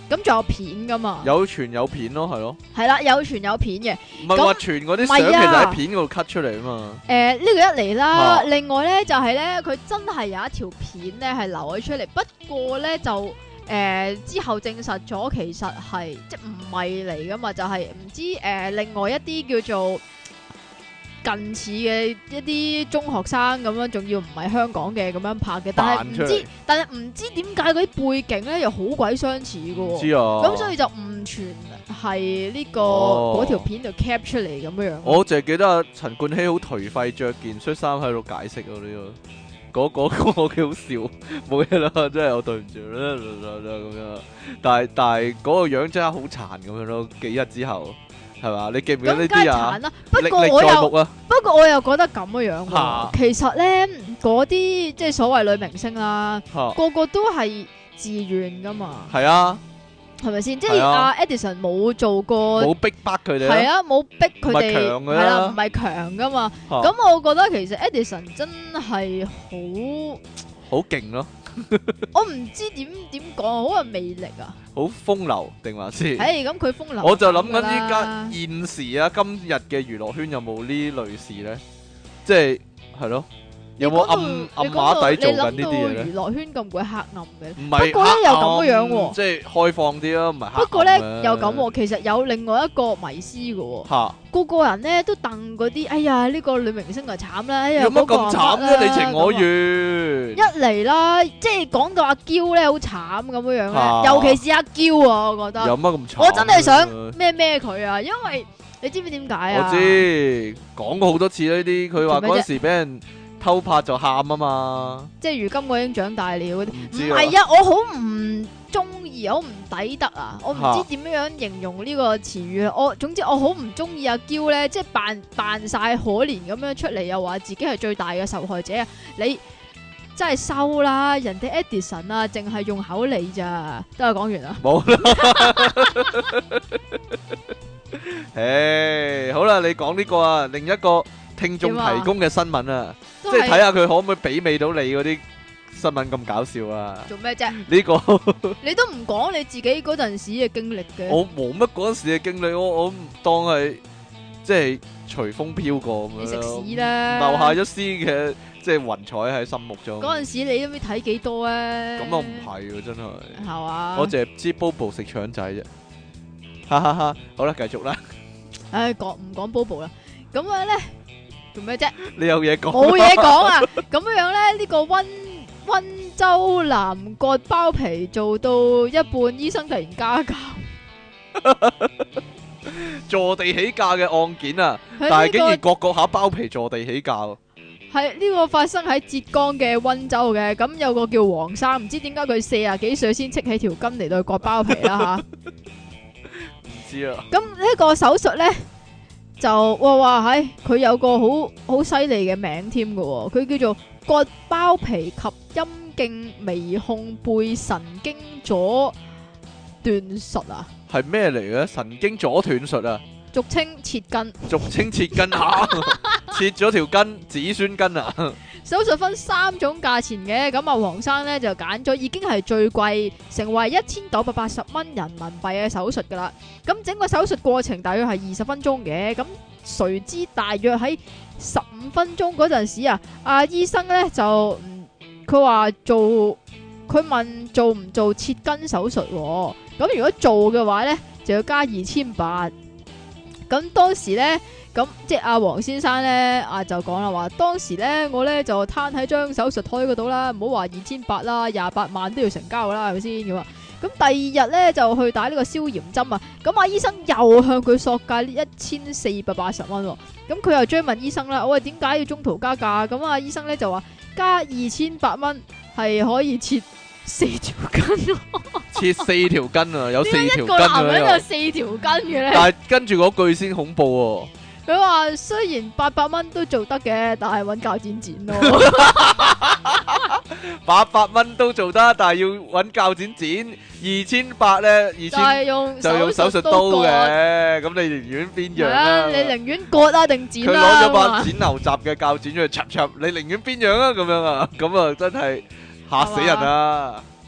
咁仲有片噶嘛？ 有傳有片咯，係咯， 係啦，有傳有片嘅。 唔係話傳嗰啲相其實喺片嗰度 cut 出嚟啊嘛。 呢個一嚟啦， 啊另外咧就係咧，佢真係有一條片咧係流咗出嚟，不過咧就之後證實咗其實係即係唔係嚟噶嘛，就係唔知另外一啲叫做近似嘅一啲中學生咁樣，仲要唔係香港嘅咁樣拍嘅，但係唔知點解嗰啲背景咧又好鬼相似嘅喎。 知啊， 咁所以就誤傳係呢個嗰條片度 cap 出嚟咁樣樣。 我淨係記得阿陳冠希好頹廢，着件恤衫喺度解釋喎呢個，嗰個幾好笑，冇嘢啦，真係我對唔住啦咁樣。但係嗰個樣真係好殘咁樣咯，幾日之後係嘛？你記唔記得呢啲啊？ 咁梗係殘啦，不過我又覺得咁樣喎。其實咧嗰啲即係所謂女明星啦，個個都係自願噶嘛。 係啊。 係咪先？即係阿 Edison 冇做過， 冇逼迫佢哋， 係啊，冇逼佢哋，係啦，唔係強噶嘛。咁我覺得其實 Edison 真係好勁咯。我唔知點講，好有魅力啊！ 好風流定還是？ 咁佢風流。 我就諗緊依家現時啊，今日嘅娛樂圈有冇呢類事咧？即係咯。有冇暗碼底做緊呢啲嘢咧？ 娛樂圈咁鬼黑暗嘅， 唔係， 不過咧又咁樣喎， 即係開放啲咯，唔係黑暗。 不過咧又咁喎，其實有另外一個迷思嘅喎，個人咧都戥嗰啲，哎呀呢個女明星啊慘啦，哎呀有乜咁慘啫？你情我願。 一嚟啦，即係講到阿嬌咧好慘咁樣樣咧，尤其是阿嬌啊，我覺得。 有乜咁慘？ 我真係想咩佢啊，因為你知唔知點解啊？ 我知，講過好多次呢啲，佢話嗰時俾人偷拍就喊啊嘛， 即係如今我已經長大了嗰啲，唔係啊，我好唔中意，好唔抵得啊！我唔知點樣形容呢個詞語啊！總之我好唔中意阿嬌咧，即係扮晒可憐咁樣出嚟，又話自己係最大嘅受害者啊！你真係收啦，人哋 Edison 啊，淨係用口理咋，得我講完啦。 冇啦，誒，好啦，你講呢個啊，另一個聽眾提供嘅新聞啊，即係睇下佢可唔可以媲美到你嗰啲新聞咁搞笑啊？ 做咩啫？ 呢個你都唔講你自己嗰陣時嘅經歷嘅。 我冇乜嗰陣時嘅經歷，我唔當係即係隨風飄過咁樣。 你食屎啦！ 留下一絲嘅即係雲彩喺心目中。 嗰陣時你都唔知睇幾多啊？ 咁又唔係喎，真係。 係嘛？ 我淨係知 Bobo 食腸仔啫。哈哈哈！好啦，繼續啦。 唉，唔講 Bobo 啦。咁樣咧。做咩啫？ 你有嘢講？ 冇嘢講啊！咁樣咧，呢個溫州男割包皮做到一半，醫生突然加價， 坐地起價嘅案件啊！但係竟然割下包皮坐地起價喎。 係呢個發生喺浙江嘅溫州嘅，咁有個叫黃生，唔知點解佢40幾歲先戚起條筋嚟到割包皮啦吓？ 唔知啊。咁呢個手術咧？就話喺佢有個好犀利嘅名添㗎，佢叫做割包皮及陰莖微控背神經阻斷術啊！ 係咩嚟嘅？神經阻斷術啊！ 俗稱切筋， 俗稱切筋啊！切咗條筋，子孫筋啊！ 手術分3種價錢嘅，咁啊黃生咧就揀咗已經係最貴，成為1980蚊人民幣嘅手術噶啦。咁整個手術過程大約係20分鐘嘅，咁誰知大約喺15分鐘嗰陣時啊，阿醫生咧就佢話佢問做唔做切筋手術，咁如果做嘅話咧就要加2800。咁當時咧。咁即係阿黃先生咧，就講啦話，當時咧我咧就攤喺張手術台嗰度啦，唔好話2800啦，28萬都要成交啦，係咪先咁啊？咁第二日咧就去打呢個消炎針啊，咁阿醫生又向佢索價1480蚊，咁佢又追問醫生啦，我話點解要中途加價？咁阿醫生咧就話加2800蚊係可以切4條筋， 切4條筋啊，有4條筋啊， 一個男人有4條筋嘅咧， 但係跟住嗰句先恐怖喎。 佢話雖然800蚊都做得嘅，但係揾鉸剪剪咯。 800蚊都做得，但係要揾鉸剪剪。2800咧，2000就用手術刀嘅。咁你寧願邊樣啊？ 你寧願割啊定剪啊？ 佢攞咗把剪牛雜嘅鉸剪出去插插，你寧願邊樣啊？咁樣啊？咁啊真係嚇死人啊！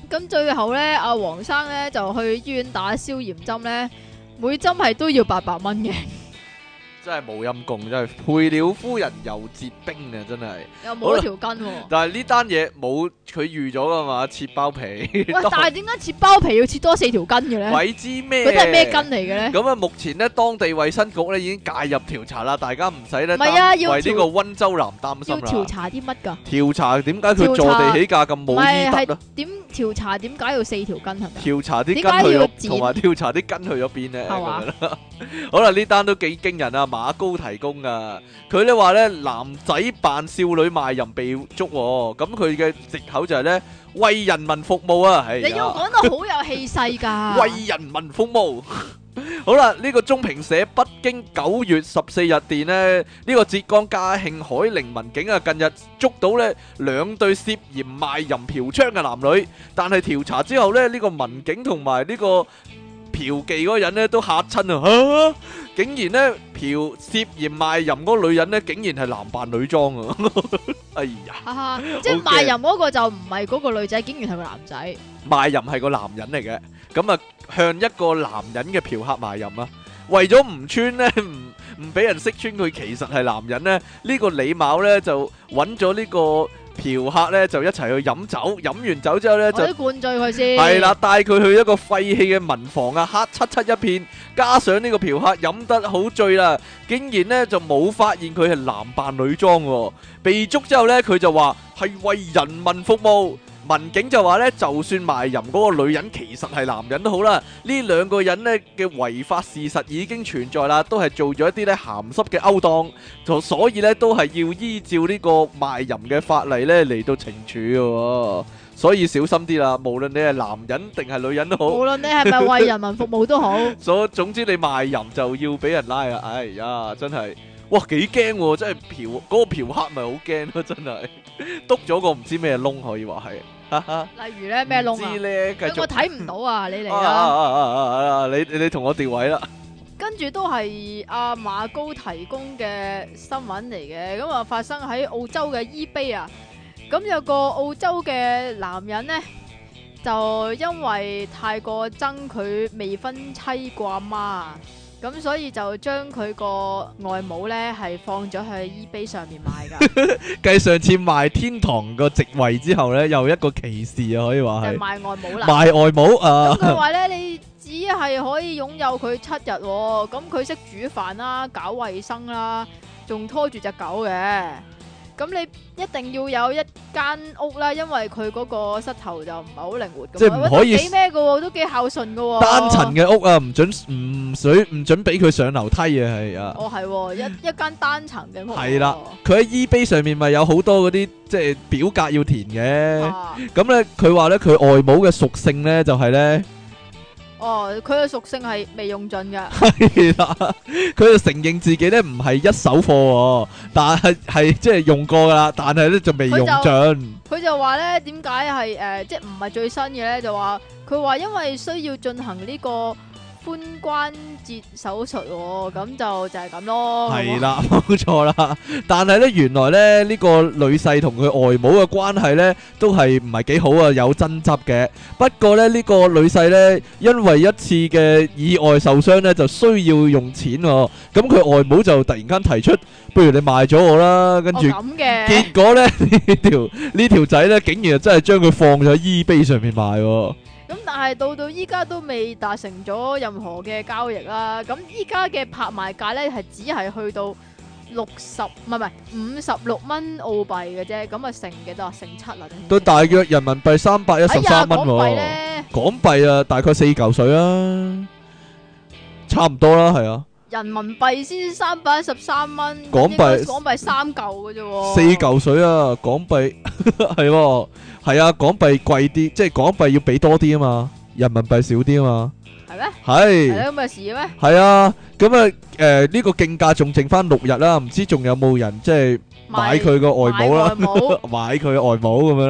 咁最後咧，阿黃生咧就去醫院打消炎針咧，每針係都要800蚊嘅， 真係冇陰功，真係配了夫人又折兵啊！真係。 又冇一條筋喎。 但係呢單嘢冇佢預咗噶嘛，切包皮。 喂，但係點解切包皮要切多4條筋嘅咧？ 鬼知咩？ 嗰啲係咩筋嚟嘅咧？ 咁啊，目前呢，當地衛生局咧已經介入調查啦，大家唔使咧唔係啊要為呢個溫州男擔心要調啦。 查啲乜㗎？ 調查點解佢坐地起價咁唔冇係係醫德啊？ 點調查點解要4條筋係咪？ 調查啲筋點解去咗， 要剪同埋調查啲筋去咗邊咧？ 係嘛咁樣啦。好啦，呢單都幾驚人啊！馬高提供噶，佢咧話咧男仔扮少女賣淫被捉喎，咁佢嘅藉口就係咧為人民服務啊！係你要講得好有氣勢㗎。 為人民服務。好啦，呢個中評社北京9月14日電呢，呢個浙江嘉興海寧民警啊，近日捉到呢2對涉嫌賣淫嫖娼嘅男女，但係調查之後呢，呢個民警同埋呢個嫖妓嗰個人呢都嚇親啊！竟然呢涉嫌賣淫嗰個女人呢，竟然係男扮女裝啊！哎呀， 哈哈，即係賣淫嗰個就唔係嗰個女仔，竟然係個男仔。 賣淫係個男人嚟嘅，咁啊向一個男人嘅嫖客賣淫啊，為咗唔穿呢，唔俾人識穿佢其實係男人呢，呢個李某呢就揾咗呢個嫖客呢，就一齊去飲酒，飲完酒之後呢，就我都灌醉佢先。 係啦，帶佢去一個廢棄嘅民房啊，黑漆漆一片，加上呢個嫖客飲得好醉啦，竟然呢就冇發現佢係男扮女裝喎，被捉之後呢，佢就話係為人民服務。民警就話咧，就算賣淫嗰個女人其實係男人都好啦，呢2個人呢嘅違法事實已經存在啦，都係做咗一啲咧鹹濕嘅勾當，所以咧都係要依照呢個賣淫嘅法例咧嚟到懲處嘅，所以小心啲啦，無論你係男人定係女人都好， 無論你係咪為人民服務都好， 總之你賣淫就要俾人拉啊！哎呀，真係〜哇，幾驚喎！真係嗰個嫖客咪好驚咯，真係篤咗個唔知咩窿，可以話係。 例如咧咩窿啊？ 知咧，繼續我睇唔到啊！你嚟啊！ 你同我調位啦。 跟住都係阿馬高提供嘅新聞嚟嘅，咁啊發生喺澳洲嘅 eBay 啊，咁有個澳洲嘅男人呢，就因為太過憎佢未婚妻個阿媽。咁所以就將佢個外母咧係放咗去 eBay 上面賣噶， 繼上次賣天堂個席位之後咧，又一個歧視啊，可以話係賣外母啦。 賣外母啊！ 咁佢話咧，你只係可以擁有佢7日，咁佢識煮飯啦、搞衛生啦，仲拖住隻狗嘅。咁你一定要有一間屋啦，因為佢嗰個膝頭就唔係好靈活嘅， 即係唔可以幾咩嘅，都幾孝順嘅。 單層嘅屋啊，唔准俾佢上樓梯啊，係啊。 哦，係一間單層嘅屋。 係啦，佢喺 eBay 上面咪有好多嗰啲即係表格要填嘅。咁咧，佢話咧佢外母嘅屬性咧就係咧。 哦，佢嘅屬性係未用盡嘅。 係啦，佢就承認自己咧唔係一手貨，但係即係用過噶啦，但係咧就未用盡。 佢就話咧，點解係即係唔係最新嘅咧？就話佢話因為需要進行呢個髖關節手術，咁就係咁咯。 係啦，冇錯啦。但係咧，原來咧呢個女婿同佢外母嘅關係咧都係唔係幾好啊，有爭執嘅。不過咧呢個女婿咧因為一次嘅意外受傷咧，就需要用錢喎。咁佢外母就突然間提出，不如你賣咗我啦。跟住結果咧呢條仔咧竟然真係將佢放咗喺 eBay 上面賣喎。 咁但係到依家都未達成咗任何嘅交易啦。咁依家嘅拍賣價咧係只係去到56蚊澳幣嘅啫。咁啊成幾多啊？成7啦。 都大約人民幣313蚊喎。港幣啊，大概4嚿水啦，差唔多啦，係啊。 人民幣先313蚊， 港幣 3嚿嘅啫喎。 4嚿水啊，港幣係。係啊，港幣貴啲，即係港幣要俾多啲啊嘛，人民幣少啲啊嘛。 係咩？ 係。 係咁嘅事咩？ 係啊，咁啊，呢個競價仲剩翻6日啦，唔知仲有冇人即係買佢個外母啦，買佢外母咁樣啦。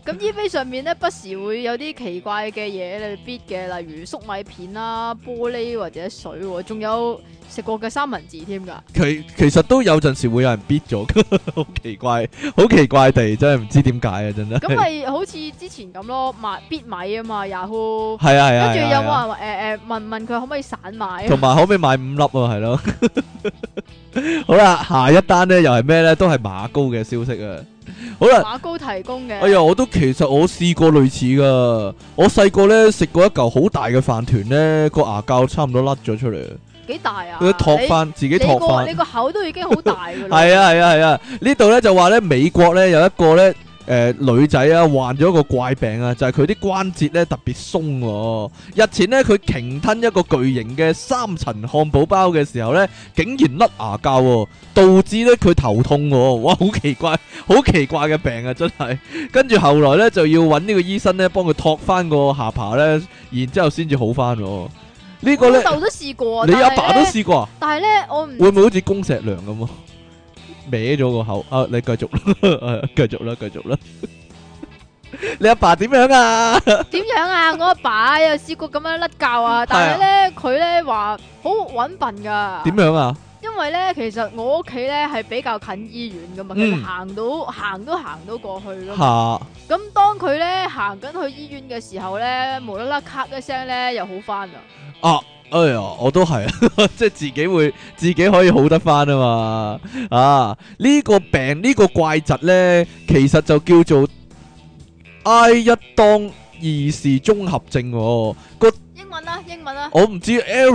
咁 eBay 上面咧不時會有啲奇怪嘅嘢嚟 bid 嘅，例如粟米片啦、玻璃或者水喎，仲有食過嘅三文治添㗎。 其實都有陣時會有人 bid 咗，好奇怪，好奇怪地，真係唔知點解啊！真係。 咁咪好似之前咁咯，賣 bid 米啊嘛，Yahoo。 係啊係啊。 跟住有冇係啊人問佢可唔可以散買？ 同埋可唔可以買5粒啊？係咯。好啦，下一單咧又係咩咧？都係馬高嘅消息啊！好啦， 馬高提供嘅。 哎呀，其實我試過類似噶。我細個咧食過一嚿好大嘅飯團咧，個牙膠差唔多甩咗出嚟。 幾大啊？ 佢托翻自己托翻。 你個口都已經好大噶啦。 係啊係啊係啊！呢度咧就話咧美國咧有一個咧女仔啊患咗一個怪病啊，就係佢啲關節咧特別鬆喎。日前咧佢鯨吞一個巨型嘅3層漢堡包嘅時候咧，竟然甩牙膠喎，導致咧佢頭痛喎。哇，好奇怪，好奇怪嘅病啊，真係。跟住後來咧就要揾呢個醫生咧幫佢托翻個下巴咧，然之後先至好翻喎。呢個咧， 我老豆都試過， 你阿爸都試過啊？ 但係咧，我唔會唔會好似公石良咁啊？歪咗個口啊！你繼續啦，繼續啦，繼續啦。你阿爸點樣啊？ 點樣啊？我阿爸又試過咁樣甩臼啊，但係咧佢咧話好揾笨噶。 點樣啊？ 因為咧，其實我屋企咧係比較近醫院噶嘛，佢行到過去噶嘛。咁當佢咧行緊去醫院嘅時候咧，無啦啦咔一聲咧又好翻啦。 啊！哎呀，我都係，即係自己可以好得翻啊嘛！啊，呢個病呢個怪疾咧，其實就叫做埃一當二氏綜合症喎。 英文啊， 我唔知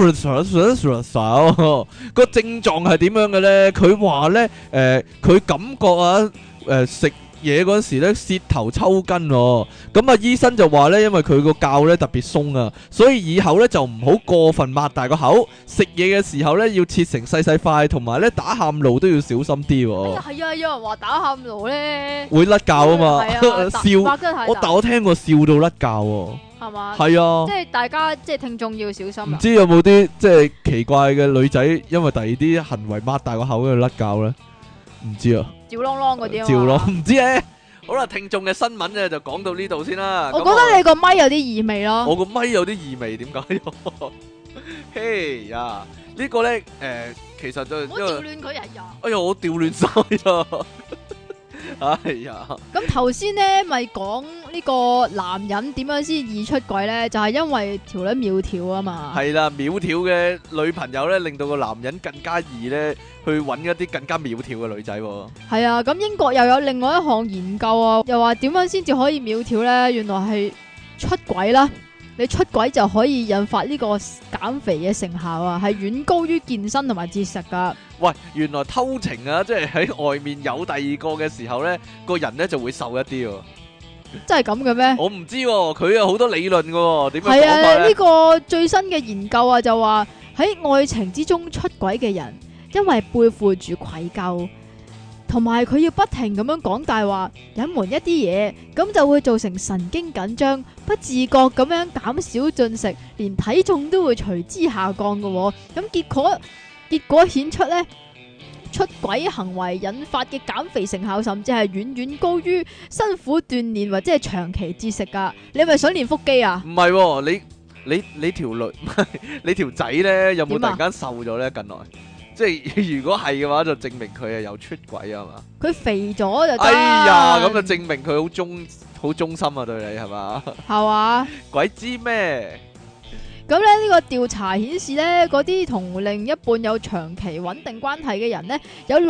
Eris 個症狀係點樣嘅咧？佢話咧，佢感覺啊，食嘢嗰時咧舌頭抽筋喎，咁啊醫生就話咧，因為佢個臼咧特別鬆啊，所以以後咧就唔好過分擘大個口，食嘢嘅時候咧要切成細細塊，同埋咧打喊路都要小心啲喎。 係啊，有人話打喊路咧會甩臼啊嘛， 笑， 但我聽過笑到甩臼喎。 係嘛？ 係啊， 即係大家即係聽眾要小心。 唔知有冇啲即係奇怪嘅女仔，因為第二啲行為擘大個口喺度甩臼咧？唔知啊。趙啷啷嗰啲啊，趙啷唔知咧。好啦，聽眾嘅新聞咧就講到呢度先啦。 我覺得你個咪有啲異味咯。 我個咪有啲異味，點解？嘿呀，呢個咧其實就唔好調亂佢人呀。 哎呀，我調亂晒啦。哎呀， 咁頭先咧咪講呢個男人點樣先易出軌咧？就係因為條女苗條啊嘛。 係啦，苗條嘅女朋友咧，令到個男人更加易咧去揾一啲更加苗條嘅女仔。 係啊，咁英國又有另外一項研究啊，又話點樣先至可以苗條咧？原來係出軌啦。你出軌就可以引發呢個減肥嘅成效啊，係遠高於健身同埋節食噶。 喂，原來偷情啊，即係喺外面有第二個嘅時候咧，個人咧就會瘦一啲喎。 真係咁嘅咩？ 我唔知喎，佢有好多理論嘅，點樣講法咧？係啊，呢個最新嘅研究啊，就話喺愛情之中出軌嘅人，因為背負住愧疚。同埋佢要不停咁樣講大話，隱瞞一啲嘢，咁就會造成神經緊張，不自覺咁樣減少進食，連體重都會隨之下降嘅。咁結果顯出呢，出軌行為引發嘅減肥成效，甚至係遠遠高於辛苦鍛煉或者係長期節食噶。你係咪想練腹肌啊？唔係喎，你條女你條仔呢，有冇突然間瘦咗呢？近來？即係如果係嘅話，就證明佢係有出軌啊嘛！ 佢肥咗就得。 哎呀，咁就證明佢好忠心啊，對你係嘛？係嘛？ 鬼知咩？ 咁咧呢個調查顯示咧，嗰啲同另一半有長期穩定關係嘅人咧，有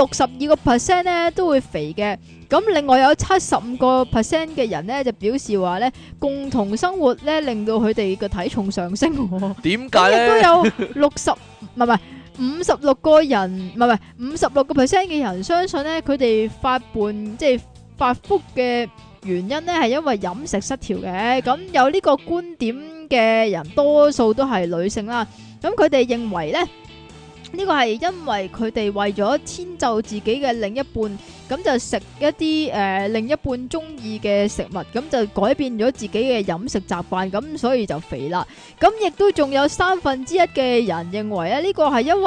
62%咧都會肥嘅。咁另外有75%嘅人咧就表示話咧，共同生活咧令到佢哋嘅體重上升。 點解咧？ 亦都有56個人，唔係56%嘅人相信咧，佢哋發福嘅原因咧係因為飲食失調嘅。咁有呢個觀點嘅人多數都係女性啦。咁佢哋認為咧，呢個係因為佢哋為咗遷就自己嘅另一半，咁就食一啲另一半中意嘅食物，咁就改變咗自己嘅飲食習慣，咁所以就肥啦。咁亦都仲有1/3嘅人認為咧，呢個係因為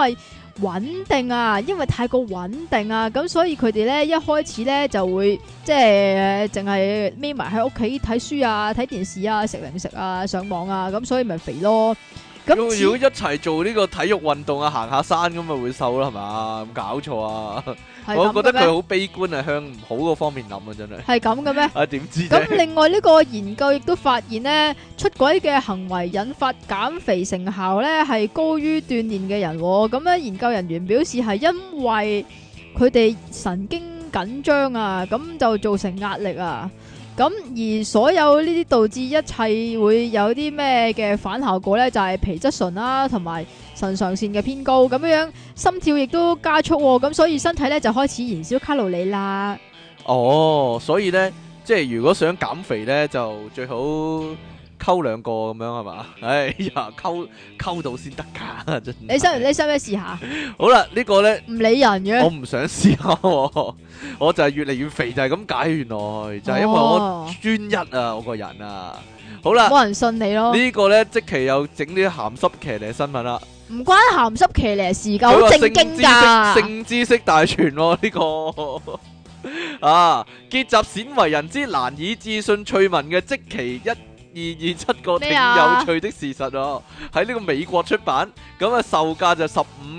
穩定啊，因為太過穩定啊，咁所以佢哋咧一開始咧就會即係淨係匿埋喺屋企睇書啊、睇電視啊、食零食啊、上網啊，咁所以咪肥咯。咁如果一齊做呢個體育運動啊，行下山咁咪會瘦啦，係嘛？咁搞錯啊！我覺得佢好悲觀啊，向唔好嗰方面諗啊，真係。 係咁嘅咩？ 啊，點知啫？ 咁另外呢個研究亦都發現呢，出軌嘅行為引發減肥成效呢係高於鍛煉嘅人喎。咁咧研究人員表示係因為佢哋神經緊張啊，咁就造成壓力啊。咁而所有呢啲導致一切會有啲咩嘅反效果呢？就係皮質醇啦，同埋腎上腺嘅偏高，咁樣心跳亦都加速喎。咁所以身體呢就開始燃燒卡路里啦。 哦，所以呢，即係如果想減肥呢，就最好溝兩個咁樣係嘛？哎呀，溝到先得㗎，真係。 你使唔使試下？ 好啦，呢個呢， 唔理人嘅。 我唔想試下喎，我就係越嚟越肥就係咁解，原來就係因為我專一啊，我個人啊。好啦， 冇人信你咯。 呢個呢，即期又整啲鹹濕騎呢新聞啦。 唔關鹹濕騎呢事㗎，好正經㗎。 性知識大全喎呢個。啊！結集鮮為人知難以置信趣聞嘅即期1227個挺有趣的事實哦，喺呢個美國出版，咁啊售價就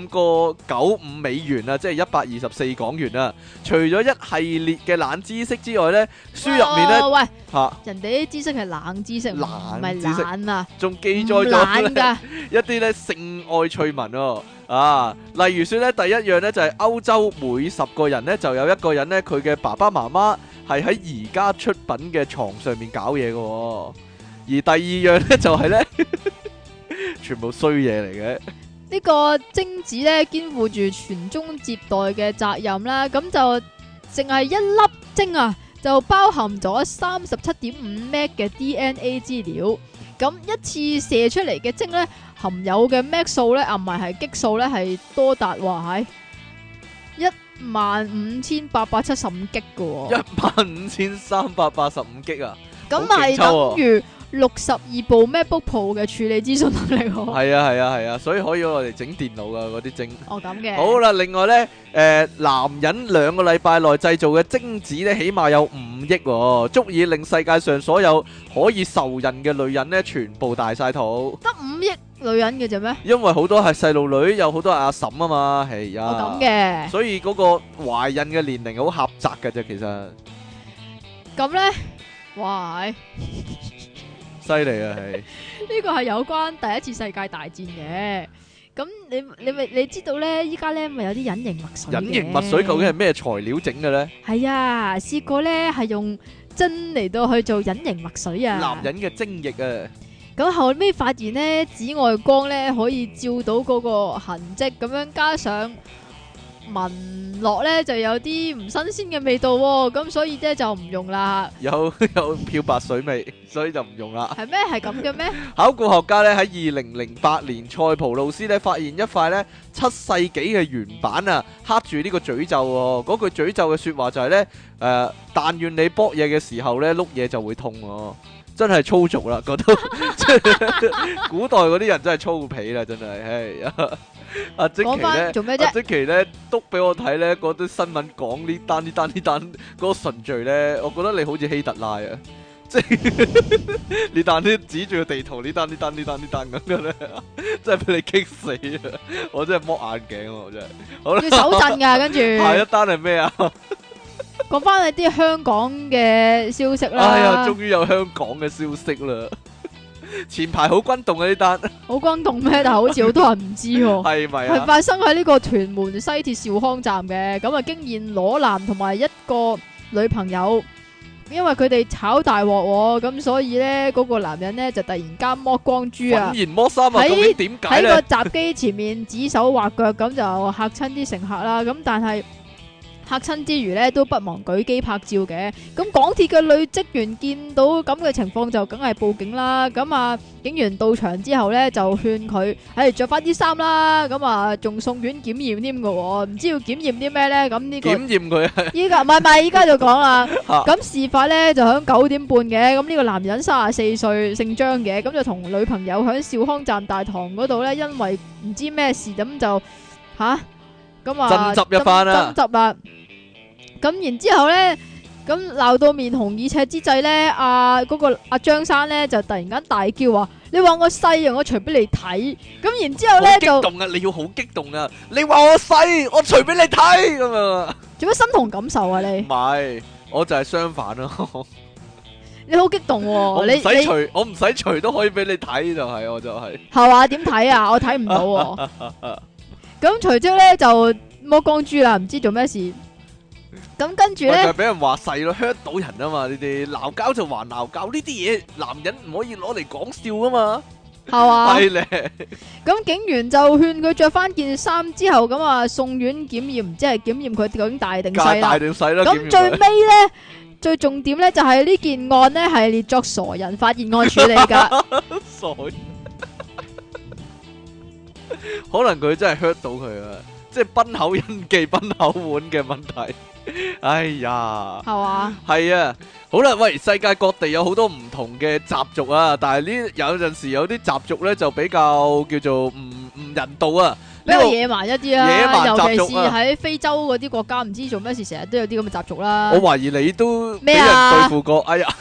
$15.95啊，即係124港元啊。除咗一系列嘅冷知識之外呢，書入面呢， 喂嚇人哋啲知識係冷知識，唔係懶啊， 仲記載咗一啲咧性愛趣聞哦。啊，例如說咧，第一樣咧就係歐洲每10個人咧就有一個人咧，佢嘅爸爸媽媽係喺而家出品嘅床上面搞嘢嘅。而第二樣咧就係咧，全部衰嘢嚟嘅。 呢個精子咧肩負住傳宗接代嘅責任啦，咁就淨係一粒精啊，就包含咗37.5 MB 嘅 DNA 資料。咁一次射出嚟嘅精咧，含有嘅 MB 數咧，唔係激素咧，係多達話係15875 G 嘅 15385 G 啊！ 咁係等於62部 MacBook Pro 嘅處理資訊能力。 係啊，所以可以我哋整電腦噶嗰啲精。 哦，咁嘅。 好啦，另外咧，男人2個禮拜內製造嘅精子咧，起碼有5億喎，足以令世界上所有可以受孕嘅女人咧，全部大晒肚。 得5億女人嘅啫咩？ 因為好多係細路女，有好多係阿嬸啊嘛，係啊。 哦，咁嘅。 所以嗰個懷孕嘅年齡好狹窄嘅啫，其實。 咁咧，哇！ 犀利啊，係呢個係有關第一次世界大戰嘅。咁你知道咧，依家咧咪有啲隱形墨水嘅。 隱形墨水究竟係咩材料整嘅咧？ 係啊，試過咧係用針嚟到去做隱形墨水啊。 男人嘅精液啊。 咁後尾發現咧，紫外光咧可以照到嗰個痕跡，咁樣加上聞落咧就有啲唔新鮮嘅味道喎，咁所以咧就唔用啦。有漂白水味，所以就唔用啦。 係咩？係咁嘅咩？ 考古學家咧喺2008年塞浦路斯咧發現一塊咧7世紀嘅原版啊，刻住呢個詛咒喎。嗰句詛咒嘅說話就係咧但願你搏嘢嘅時候咧碌嘢就會痛喎。真係粗俗啦，覺得古代嗰啲人真係粗鄙啦，真係。阿積淇咧， 做咩啫？ 阿積淇咧，督俾我睇咧，嗰啲新聞講呢單嗰個順序咧，我覺得你好似希特拉啊，即係呢單啲指住個地圖，呢單咁嘅咧，真係俾你激死啊！我真係剝眼鏡啊，我真係。好啦， 要手震噶，跟住下一單係咩啊？ 講翻你啲香港嘅消息啦。 哎呀，終於有香港嘅消息啦！前排好轟動啊呢單， 好轟動咩？但係好似好多人唔知喎。 係咪啊？ 係發生喺呢個屯門西鐵兆康站嘅，咁啊經驗裸男同埋一個女朋友，因為佢哋炒大鑊，咁所以咧嗰個男人咧就突然間剝光豬啊， 突然剝衫啊，究竟點解咧？ 喺個閘機前面指手畫腳，咁就嚇親啲乘客啦。咁但係嚇親之餘咧，都不忘舉機拍照嘅。咁港鐵嘅女職員見到咁嘅情況，就梗係報警啦。咁啊，警員到場之後咧，就勸佢，着翻啲衫啦。咁啊，仲送院檢驗添㗎喎。唔知要檢驗啲咩咧？咁呢個檢驗佢啊！ 依家唔係，依家就講啦。咁事發咧就響9點半嘅。咁呢個男人34歲，姓張嘅，咁就同女朋友響兆康站大堂嗰度咧，因為唔知咩事咁就吓，咁啊爭執一番啦爭執啦。咁然之後咧，咁鬧到面紅耳赤之際咧，嗰個阿張生咧就突然間大叫話：你話我細啊，我除俾你睇。咁然之後好咧就激動啊！你要好激動啊！你話我細，我除俾你睇咁啊！ 做咩心同感受啊你唔？係，我就係相反咯。 你好激動我喎！你唔使除，我唔使除都可以俾你睇，就係我就係。 係話點睇啊？我睇唔到喎。咁隨即咧就剝光豬啦，唔知做咩事。咁跟住咧咪就係，俾人話細咯，hurt 到人啊嘛！呢啲鬧交就還鬧交，呢啲嘢男人唔可以攞嚟講笑啊嘛。 係嘛？ 係咧， 咁警員就勸佢着翻件衫之後，咁啊送院檢驗，唔知係檢驗佢究竟大定細大啦。 定細啦。 咁最尾咧，最重點咧就係呢件案咧係列作傻人發現案處理噶。 傻，可能佢真係 hurt 到佢啊！即係崩口印記、崩口碗嘅問題。哎呀， 係嘛？ 係啊，好啦，喂，世界各地有好多唔同嘅習俗啊，但係呢有陣時有啲習俗咧就比較叫做唔人道啊。 比較野蠻一啲野啦， 蠻尤其是習俗啊喺非洲嗰啲國家，唔知做咩事，成日都有啲咁嘅習俗啦。 我懷疑你都俾人咩啊對付過。哎呀，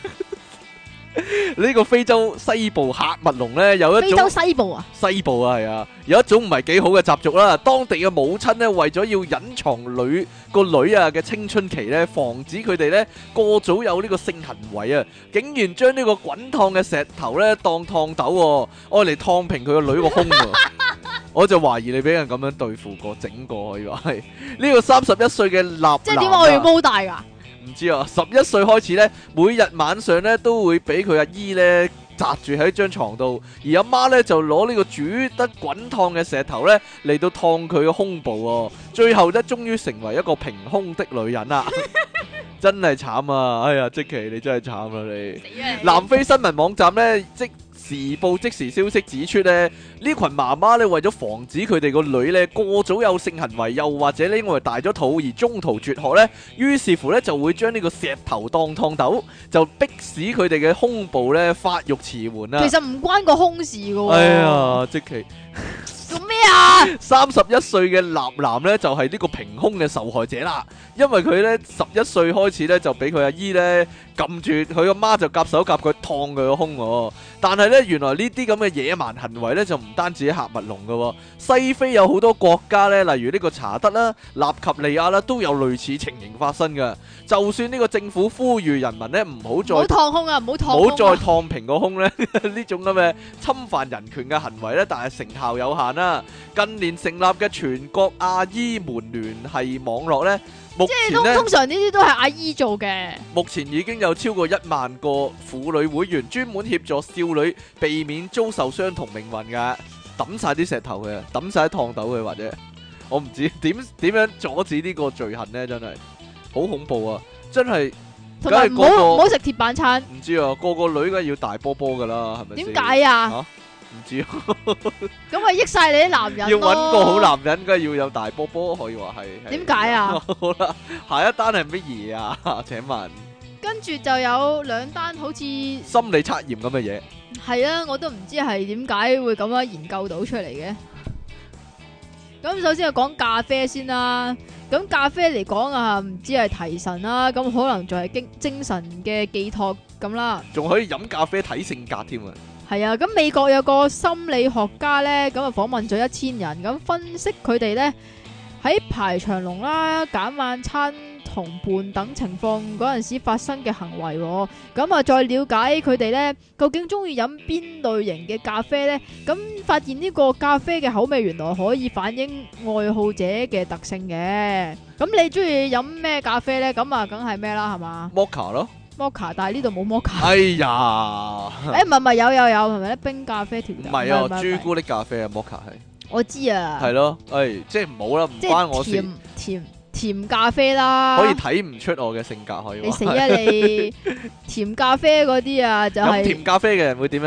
呢個非洲西部喀麥隆咧有一非洲種西部啊， 西部啊，係啊，有一種唔係幾好嘅習俗啦。當地嘅母親咧為咗要隱藏個女啊嘅青春期咧，防止佢哋咧過早有呢個性行為啊，竟然將呢個滾燙嘅石頭咧當燙斗，愛嚟燙平佢個女個胸喎。我就懷疑你俾人咁樣對付過，整過可以話係呢個31歲嘅納即係點解我要男啊毛大㗎？ 唔知啊，11歲開始咧，每日晚上咧都會俾佢阿姨咧擲住喺張床度，而阿媽咧就攞呢個煮得滾燙嘅石頭咧嚟到燙佢嘅胸部喎，最後咧終於成為一個平胸的女人啦，真係慘啊！哎呀，積淇你真係慘啦你。 死啊你南非新聞網站咧即時報即時消息指出咧，呢群媽媽咧為咗防止佢哋個女咧過早有性行為，又或者呢因為大咗肚而中途絕學咧，於是乎咧就會將呢個石頭當燙斗，就迫使佢哋嘅胸部咧發育遲緩啊！ 其實唔關個胸事㗎喎。 哎呀，即其做咩啊？ 31歲嘅立男咧就係呢個平胸嘅受害者啦，因為佢咧11歲開始咧就俾佢阿姨咧撳住佢阿媽就夾手夾腳燙佢個胸喎。但係咧，原來呢啲咁嘅野蠻行為咧，就唔單止喺喀麥隆嘅喎，西非有好多國家咧，例如呢個查德啦、納及利亞啦，都有類似情形發生嘅。就算呢個政府呼籲人民咧唔好再唔好燙胸啊！唔好燙唔好再胸啊！ 燙平個胸咧，呢種咁嘅侵犯人權嘅行為咧，但係成效有限啦。近年成立嘅全國阿姨們聯繫網絡咧，目前咧。 通常呢啲都係阿姨做嘅。 目前已經有超過1萬個婦女會員，專門協助少女避免遭受相同命運㗎。抌晒啲石頭嘅，抌晒啲燙斗嘅，或者我唔知點樣阻止呢個罪行呢？真係好恐怖啊！真係， 同埋唔梗係個個好食鐵板餐。 唔知啊，個個女梗係要大波波㗎啦，係咪先？ 點解啊？ 嚇唔知啊， 咁咪益晒你啲男人要咯。 揾個好男人，梗係要有大波波，可以話係。 點解啊？ 好啦，下一單係乜嘢啊？請問跟住就有兩單好似心理測驗咁嘅嘢。 係啊，我都唔知係點解會咁樣研究到出嚟嘅。咁首先係講咖啡先啦。咁咖啡嚟講啊，唔知係提神啦，咁可能就係精神嘅寄託咁啦。 仲可以飲咖啡睇性格添啊！ 係啊，咁美國有個心理學家咧，咁啊訪問咗1000人，咁分析佢哋咧喺排長龍啦、揀晚餐同伴等情況嗰陣時發生嘅行為，咁啊再了解佢哋咧究竟中意飲邊類型嘅咖啡咧，咁發現呢個咖啡嘅口味原來可以反映愛好者嘅特性嘅。咁你中意飲咩咖啡咧？咁啊梗係咩啦，係嘛 Mocha 咯， ？Mocha，但係呢度冇 Mocha。 哎呀， 誒唔係有係咪咧？冰咖啡調唔係啊，朱古力咖啡啊，Mocha 係我知啊， 係咯，誒即係唔好啦，唔即關我事， 係甜咖啡啦， 可以睇唔出我嘅性格可以話。 你死啊你！甜咖啡嗰啲啊，就飲係甜咖啡嘅人會點樣咧？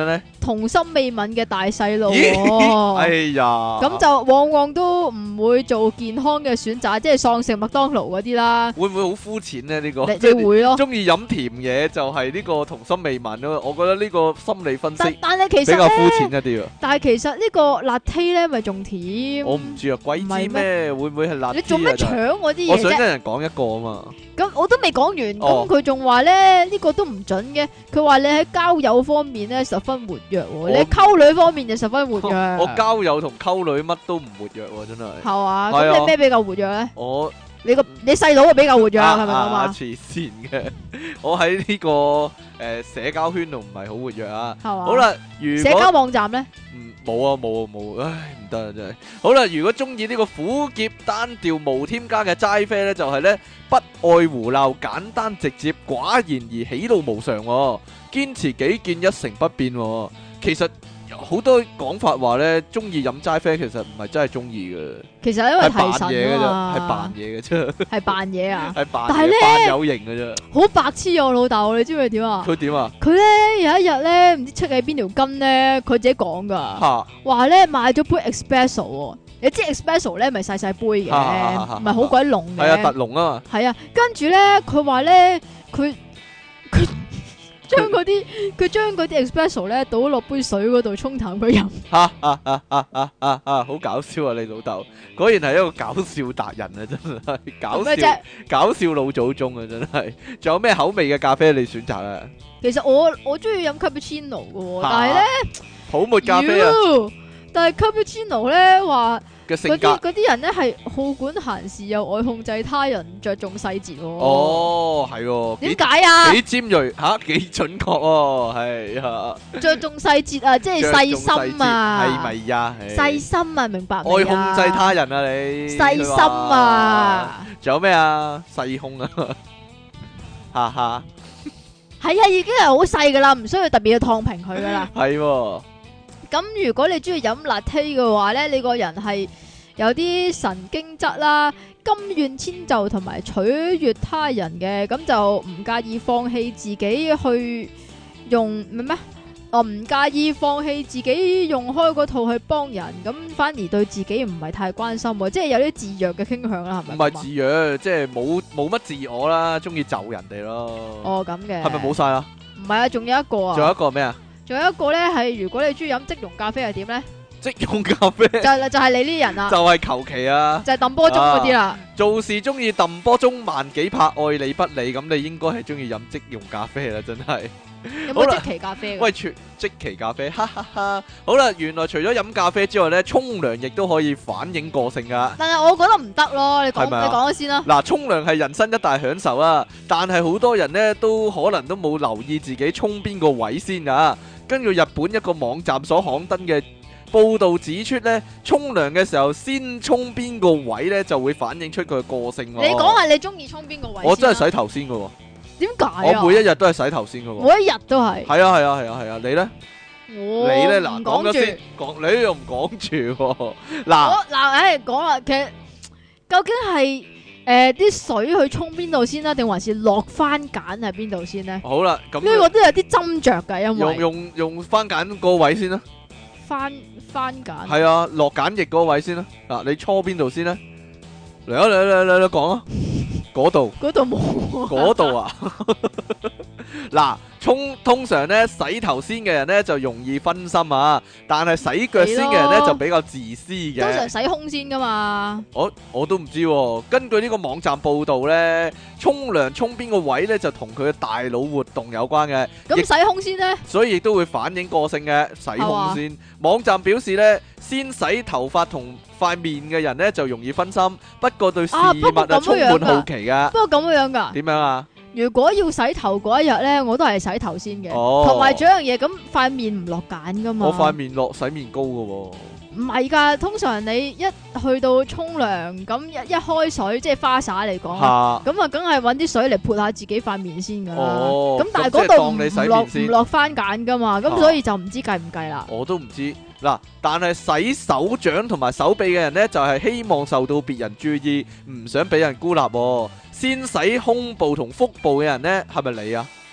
童心未泯嘅大細路咦喎。 哎呀， 咁就往往都唔會做健康嘅選擇，即係喪食麥當勞嗰啲啦。 會唔會好膚淺呢？呢個你你會咯， 中意飲甜嘢就係呢個童心未泯咯。我覺得呢個心理分析但係其比較膚實咧， 淺一啲啊。 但係其實呢個辣 T 咧咪仲甜。 我唔知啊，鬼知唔係咩？會唔會係辣你做咩啲啊？ 搶我啲嘢啫？ 我想一人講一個啊嘛。 咁我都未講完， 哦咁佢仲話咧呢個都唔準嘅。佢話你喺交友方面咧十分活躍喎，你喺溝女方面就十分活躍。 我交友同溝女乜都唔活躍喎，真係。 係嘛？ 係啊咁你咩比較活躍咧？ 我你細佬啊比較活躍，係咪咁啊？ 黐線嘅，我喺呢個社交圈度唔係好活躍啊。 係嘛？ 好啦，如社交果網站咧， 冇啊冇啊冇，唉唔得啊真係。好啦，如果中意呢個苦澀單調無添加嘅齋啡呢，就係呢不愛胡鬧，簡單直接，寡言而喜怒無常喎，堅持己見一成不變喎。其實好多講法話呢，中意飲齋啡其實唔係真係中意嘅， 其實因為係扮提神嘢嘅啫， 啊嘛， 係扮嘢嘅啫， 係扮嘢啊， 係扮但係呢嘢扮有型嘅啫。 好白痴啊！我老豆，你知唔知佢點啊？ 佢點啊？ 佢咧有一日咧唔知出喺邊條筋咧，佢自己講噶， 嚇話咧買咗杯 espresso 喎。你知 espresso 咧咪細細杯嘅，唔係好鬼濃嘅。 係啊，特濃啊嘛。 係啊，跟住咧佢話咧佢將嗰啲 espresso 咧倒落杯水嗰度沖淡佢飲。 好搞笑啊！你老豆果然係一個搞笑達人啊，真係搞笑咩啫？ 搞笑老祖宗啊，真係。仲有咩口味嘅咖啡你選擇啊？ 其實我中意飲 cappuccino 嘅喎， 嚇但係咧泡沫咖啡啊妖但係 cappuccino 咧話。 嘅性格。 嗰啲人咧係好管閒事，又愛控制他人，着重細節喎。 哦，係喎， 點解啊？ 幾尖鋭嚇，幾準確喎，係啊， 着重細節啊，即係細心啊， 係咪呀？ 細心啊，明白愛控未啊？ 制他人啊，你細心啊， 仲有咩啊？細胸啊，哈哈， 係啊，已經係好細噶啦，唔需要特別去燙平佢噶啦。 係喎。 咁如果你中意飲 latte 嘅話咧，你個人係有啲神經質啦，甘願遷就同埋取悅他人嘅，咁就唔介意放棄自己去用咩？唔介意放棄自己用開嗰套去幫人，咁反而對自己唔係太關心喎，即係有啲自虐嘅傾向啦，係咪？ 唔係自虐，即係冇乜自我啦，中意就人哋咯。 哦，咁嘅係咪冇晒啦？ 唔係啊，仲有一個啊， 仲有一個咩啊？ 仲有一個咧係，如果你中意飲即溶咖啡係點咧？ 即溶咖啡就係你呢啲人啦， 就係求其啊！ 就係揼波鐘嗰啲啦。 做事中意揼波鐘萬幾拍，愛理不理，咁你應該係中意飲即溶咖啡啦，真係。 有好啦冇即期咖啡㗎？ 喂，即期咖啡，哈哈哈！好啦，原來除咗飲咖啡之外咧，沖涼亦都可以反映個性噶。 但係我覺得唔得咯，你係咪啊講咗先啦。 嗱，沖涼係人生一大享受啊，但係好多人呢都可能都冇留意自己沖邊個位先啊。根據日本一個網站所刊登嘅報導指出呢，沖涼嘅時候先沖邊個位呢，就會反映出佢嘅個性喎。 你講下你中意沖邊個位先啦？ 我真係洗頭先嘅喎， 點解啊？ 我每一日都係洗頭先嘅喎。 每一日都係。 係啊係啊係啊係啊，你呢？ 我你呢？嗱， 唔講住講咗先，你又唔講住喎。嗱， 講啦，其實究竟係啲水去沖邊度先啦，定還是落番梘喺邊度先呢？ 好啦，咁呢個都有啲斟酌㗎，因為用番梘個位先啦。 番梘係啊，落梘液嗰位先啦。嗱，你搓邊度先咧？嚟啊嚟講啊！嗰度嗰度冇嗰度啊！嗱，通常咧洗頭先嘅人咧就容易分心啊，但係洗腳先嘅人咧就比較自私嘅。 通常洗胸先噶嘛。 我都唔知喎。根據呢個網站報導咧，沖涼沖邊個位咧就同佢嘅大腦活動有關嘅。 咁洗胸先呢？ 所以亦都會反映個性嘅。洗胸先。網站表示咧，先洗頭髮同塊面嘅人咧就容易分心，不過對事物充滿好奇噶。 不過咁樣噶。 點樣啊？ 如果要洗頭嗰一日咧，我都係洗頭先嘅。 哦。 同埋仲有一樣嘢，咁塊面唔落梘噶嘛。 我塊面落洗面膏噶喎。 唔係㗎，通常你一去到沖涼，咁一開水，即係花灑嚟講，咁啊，梗係揾啲水嚟潑下自己塊面先㗎啦。咁但係嗰度唔落番梘㗎嘛，咁所以就唔知計唔計啦。 我都唔知嗱，但係洗手掌同埋手臂嘅人呢，就係希望受到別人注意，唔想俾人孤立喎。先洗胸部同腹部嘅人呢，係咪你啊？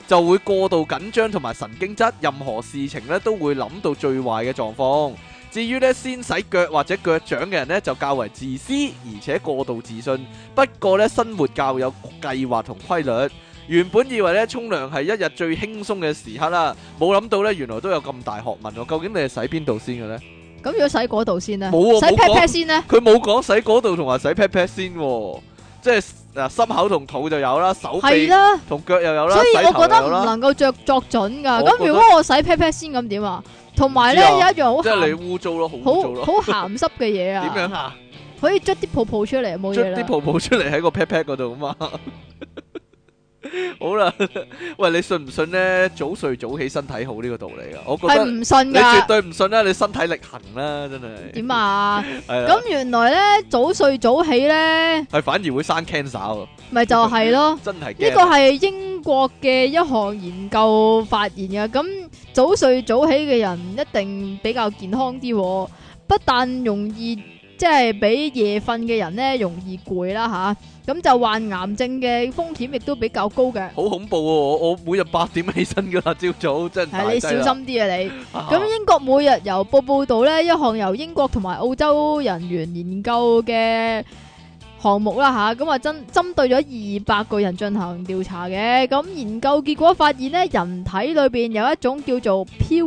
就會過度緊張同埋神經質，任何事情咧都會諗到最壞嘅狀況。至於咧先洗腳或者腳掌嘅人咧，就較為自私而且過度自信。不過咧生活較有計劃同規律。原本以為咧沖涼係一日最輕鬆嘅時刻啦，冇諗到咧原來都有咁大學問喎。究竟你係洗邊度先嘅咧？ 咁如果洗嗰度先咧， 冇喎， 洗 pat pat 先咧？ 佢冇講洗嗰度同埋洗 pat pat 先喎，即係心口同肚就有啦，手臂同腳又有啦， 所以我覺得唔洗頭又有啦。 能夠作準㗎。 我覺得咁如果我洗 pat pat 先咁點啊？同埋咧有一樣好即係你鹹污糟咯，好污糟咯。 好鹹濕嘅嘢啊！ 點樣啊？ 可以捽啲泡泡出嚟，冇嘢啦。 捽啲泡泡出嚟喺個 pat pat 嗰度啊嘛。好啦，喂，你信唔信咧？早睡早起身體好呢個道理啊？我覺得係唔信你絕㗎。 對唔信啦！你身體力行啦，真係。 點啊？ 係啦， 咁原來咧早睡早起咧， 係反而會生 cancer 喎， 咪就係咯。 真係呢驚。 個係英國嘅一項研究發現嘅，咁早睡早起嘅人一定比較健康啲喎，不但容易即係比夜瞓嘅人咧容易攰啦吓，咁就患癌症嘅風險亦都比較高嘅。 好恐怖喎！我每日8點起身噶啦，朝早真係大係你小劑啦。 心啲啊你。 啊咁英國每日郵報報導呢，一項由英國同埋澳洲人員研究嘅項目啦吓，咁啊針對咗200個人進行調查嘅。咁研究結果發現呢，人體裏邊有一種叫做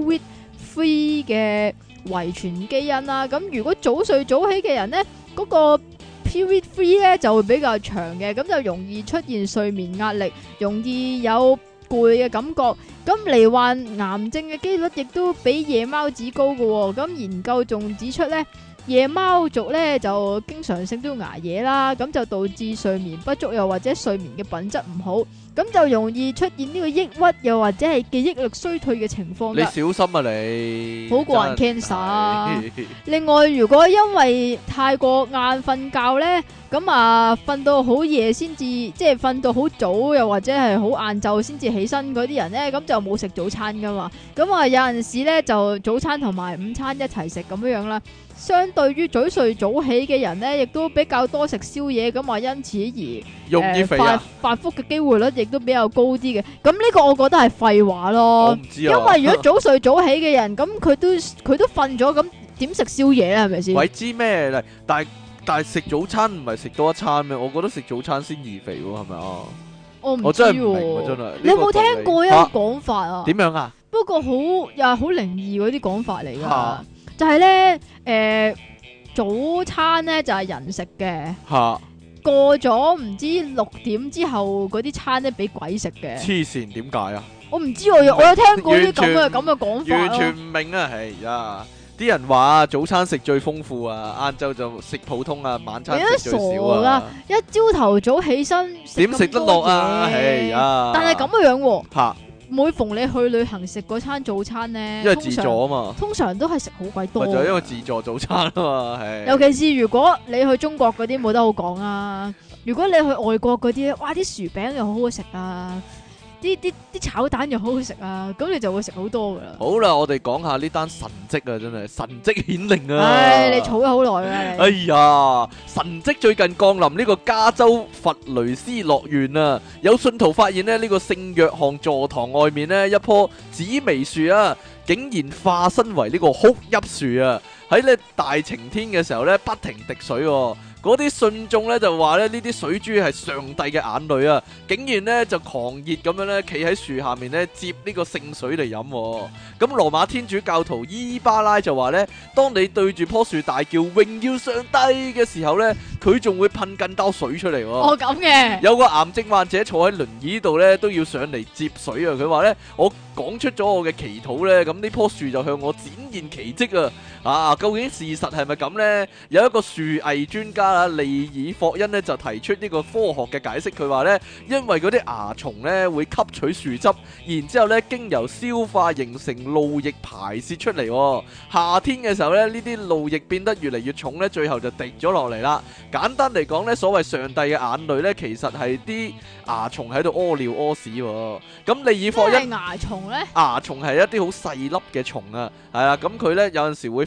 PWID3 嘅遺傳基因啦。咁如果早睡早起嘅人呢，嗰個 PWID3 咧就會比較長嘅，咁就容易出現睡眠壓力，容易有攰嘅感覺。咁罹患癌症嘅機率亦都比夜貓子高嘅喎。咁研究仲指出咧，夜貓族咧就經常性都捱夜啦，咁就導致睡眠不足，又或者睡眠嘅品質唔好，咁就容易出現呢個抑鬱，又或者係記憶力衰退嘅情況你㗎。 小心啊你！ 好過人真係 cancer 啊另外，如果因為太過晏瞓覺呢，咁啊瞓到好夜先至，即係瞓到好早，又或者係好晏晝先至起身嗰啲人呢，咁就冇食早餐噶嘛。咁啊有陣時呢，就早餐同埋午餐一齊食咁樣啦。相對於早睡早起嘅人呢，亦都比較多食宵夜，咁啊因此而容易肥啊！ 發福嘅機會率亦都比較高啲嘅。咁呢個我覺得係廢話我咯唔，知啊。 因為如果早睡早起嘅人，咁佢都瞓咗，咁點食宵夜咧？係咪先？ 鬼知咩嚟？但係食早餐唔係食多一餐咩？我覺得食早餐先易肥喎，係咪啊？ 我唔知我真係唔明喎， 喎真係。 你有冇聽過一個嚇講法啊？ 點樣啊？ 不過又係好靈異嗰啲講法嚟嚇噶，就係咧早餐咧就係人食嘅， 嚇！ 過咗唔知6點之後嗰啲餐咧俾鬼食嘅。 黐線點解啊？ 我唔知我有聽過啲咁完全嘅講法完全咯。 唔明啊！係啊，啲人話早餐食最豐富啊，晏晝就食普通啊，晚餐食最少啊。 一朝頭早起身點食得落啊？係啊！ 但係咁嘅樣喎。 嚇， 每逢你去旅行食嗰餐早餐咧， 因為自助啊嘛， 通常都係食好鬼多。 咪就係因為自助早餐啊嘛，係。 尤其是如果你去中國嗰啲冇得好講啊，如果你去外國嗰啲，哇啲薯餅又好好食啊，啲炒蛋又好好食啊，咁你就會食好多噶啦。 好啦，我哋講下呢單神蹟啊，真係神蹟顯靈啊！ 唉，你儲咗好耐啦， 哎你。 呀，神蹟最近降臨呢個加州佛雷斯樂園啊，有信徒發現呢個聖約翰座堂外面呢一棵紫薇樹啊，竟然化身為呢個哭泣樹啊！喺呢大晴天嘅時候呢，不停滴水喎。嗰啲信眾咧就話咧呢啲水珠係上帝嘅眼淚啊，竟然咧就狂熱咁樣咧企喺樹下面咧接呢個聖水嚟飲。咁羅馬天主教徒伊巴拉就話咧，當你對住棵樹大叫榮耀上帝嘅時候咧，佢仲會噴更多水出嚟。 哦咁嘅。 有個癌症患者坐喺輪椅度咧都要上嚟接水啊！佢話咧，我講出咗我嘅祈禱咧，咁呢棵樹就向我展現奇蹟啊！啊，究竟事實係咪咁呢？有一個樹藝專家啊，利爾霍恩呢就提出呢個科學嘅解釋，佢話呢，因為嗰啲蚜蟲呢會吸取樹汁，然之後呢經由消化形成露液排泄出嚟。夏天嘅時候呢，呢啲露液變得越嚟越重呢，最後就滴咗落嚟啦。簡單嚟講呢，所謂上帝嘅眼淚呢，其實係啲蚜蟲喺度屙尿屙屎。咁利爾霍恩咩係蚜蟲咧？ 蚜蟲係一啲好細粒嘅蟲啊，係啦，咁佢呢有陣時會分泌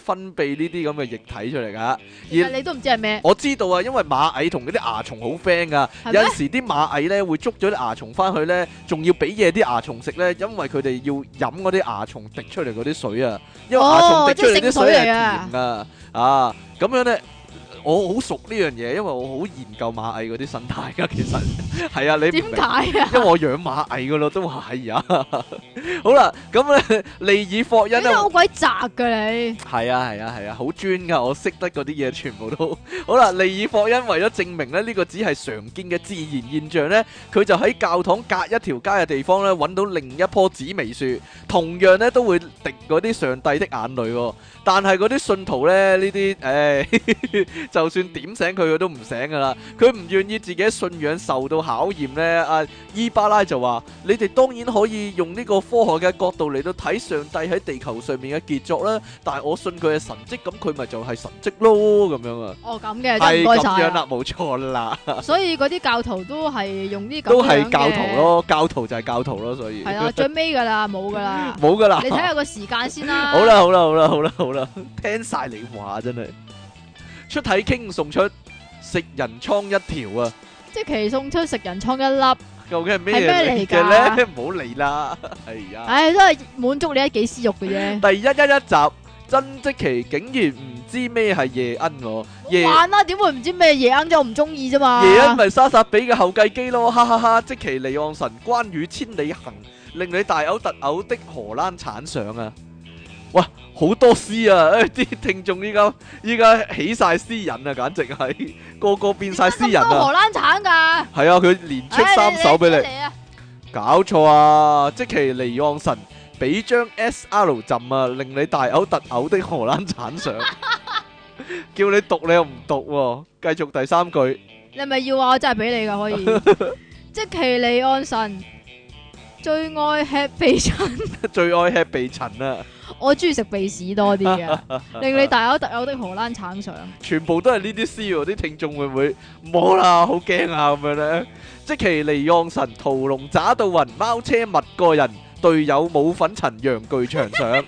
泌呢啲咁嘅液體出嚟噶。 其實你都唔知係咩， 我知道啊，因為螞蟻同嗰啲蚜蟲好 friend 噶， 係咩有陣時啲螞蟻咧會捉咗啲蚜蟲翻去咧，仲要俾嘢啲蚜蟲食咧，因為佢哋要飲嗰啲蚜蟲滴出嚟嗰啲水啊，因為蚜蟲滴出嚟啲水係甜噶，啊咁樣咧。我好熟呢樣嘢，因為我好研究螞蟻嗰啲生態噶，其實係啊，你唔明點解啊？ 因為我養螞蟻噶咯，都話係啊。好啦，咁咧利爾霍恩咧， 你好鬼雜噶你， 係啊，好專噶，我識得嗰啲嘢全部都好啦。利爾霍恩為咗證明咧呢個只係常見嘅自然現象咧，佢就喺教堂隔一條街嘅地方咧揾到另一棵紫微樹，同樣咧都會滴嗰啲上帝的眼淚喎。但係嗰啲信徒咧呢啲，就算點醒佢都唔醒噶啦。佢唔願意自己信仰受到考驗咧。阿伊巴拉就話：你哋當然可以用呢個科學嘅角度嚟到睇上帝喺地球上面嘅傑作啦。但係我信佢係神蹟，咁佢咪就係神蹟咯咁樣啊。 哦咁嘅， 係真係唔該晒啊。 咁樣啦，冇錯啦。 所以嗰啲教徒都係用啲咁樣都係教徒嘅， 咯，教徒就係教徒咯，所以係啦，最尾噶啦，冇噶啦， 冇噶啦。 你睇下個時間先啦。 好啦，聽晒你話真係。出體傾送出食人倉一條啊！ 即期送出食人倉一粒， 究竟係咩係咩嚟㗎嘅咧？唔好理啦，係啊。 唉，都係滿足你一己私欲嘅啫。 第111集，曾積奇竟然唔知咩係夜鶯喎，夜玩啦，點會唔知咩夜鶯啫？我唔中意啫嘛。 夜鶯咪莎薩比嘅後繼機咯，哈哈哈！積淇離岸神關羽千里行，令你大嘔特嘔的荷蘭產相啊！哇，好多詩啊！啲聽眾依家起晒詩人啊，簡直係個個變晒詩人啊！ 點解咁多荷蘭產㗎？ 係啊，佢連出3首俾你， 嚟啊！ 搞錯啊！積淇離岸神俾張 SR 浸啊，令你大嘔特嘔的荷蘭產相，叫你讀你又唔讀喎，繼續第3句。 你係咪要話我真係俾你㗎？可以。積淇離岸神最愛吃鼻塵， 最愛吃鼻塵啊！ 我中意食鼻屎多啲嘅，令你大嘔特嘔的荷蘭橙上。 全部都係呢啲詩喎，啲聽眾會唔會冇啦？好驚啊咁樣咧！積淇離岸神屠龍渣到暈，貓車密個人，隊友冇粉塵，楊巨長上。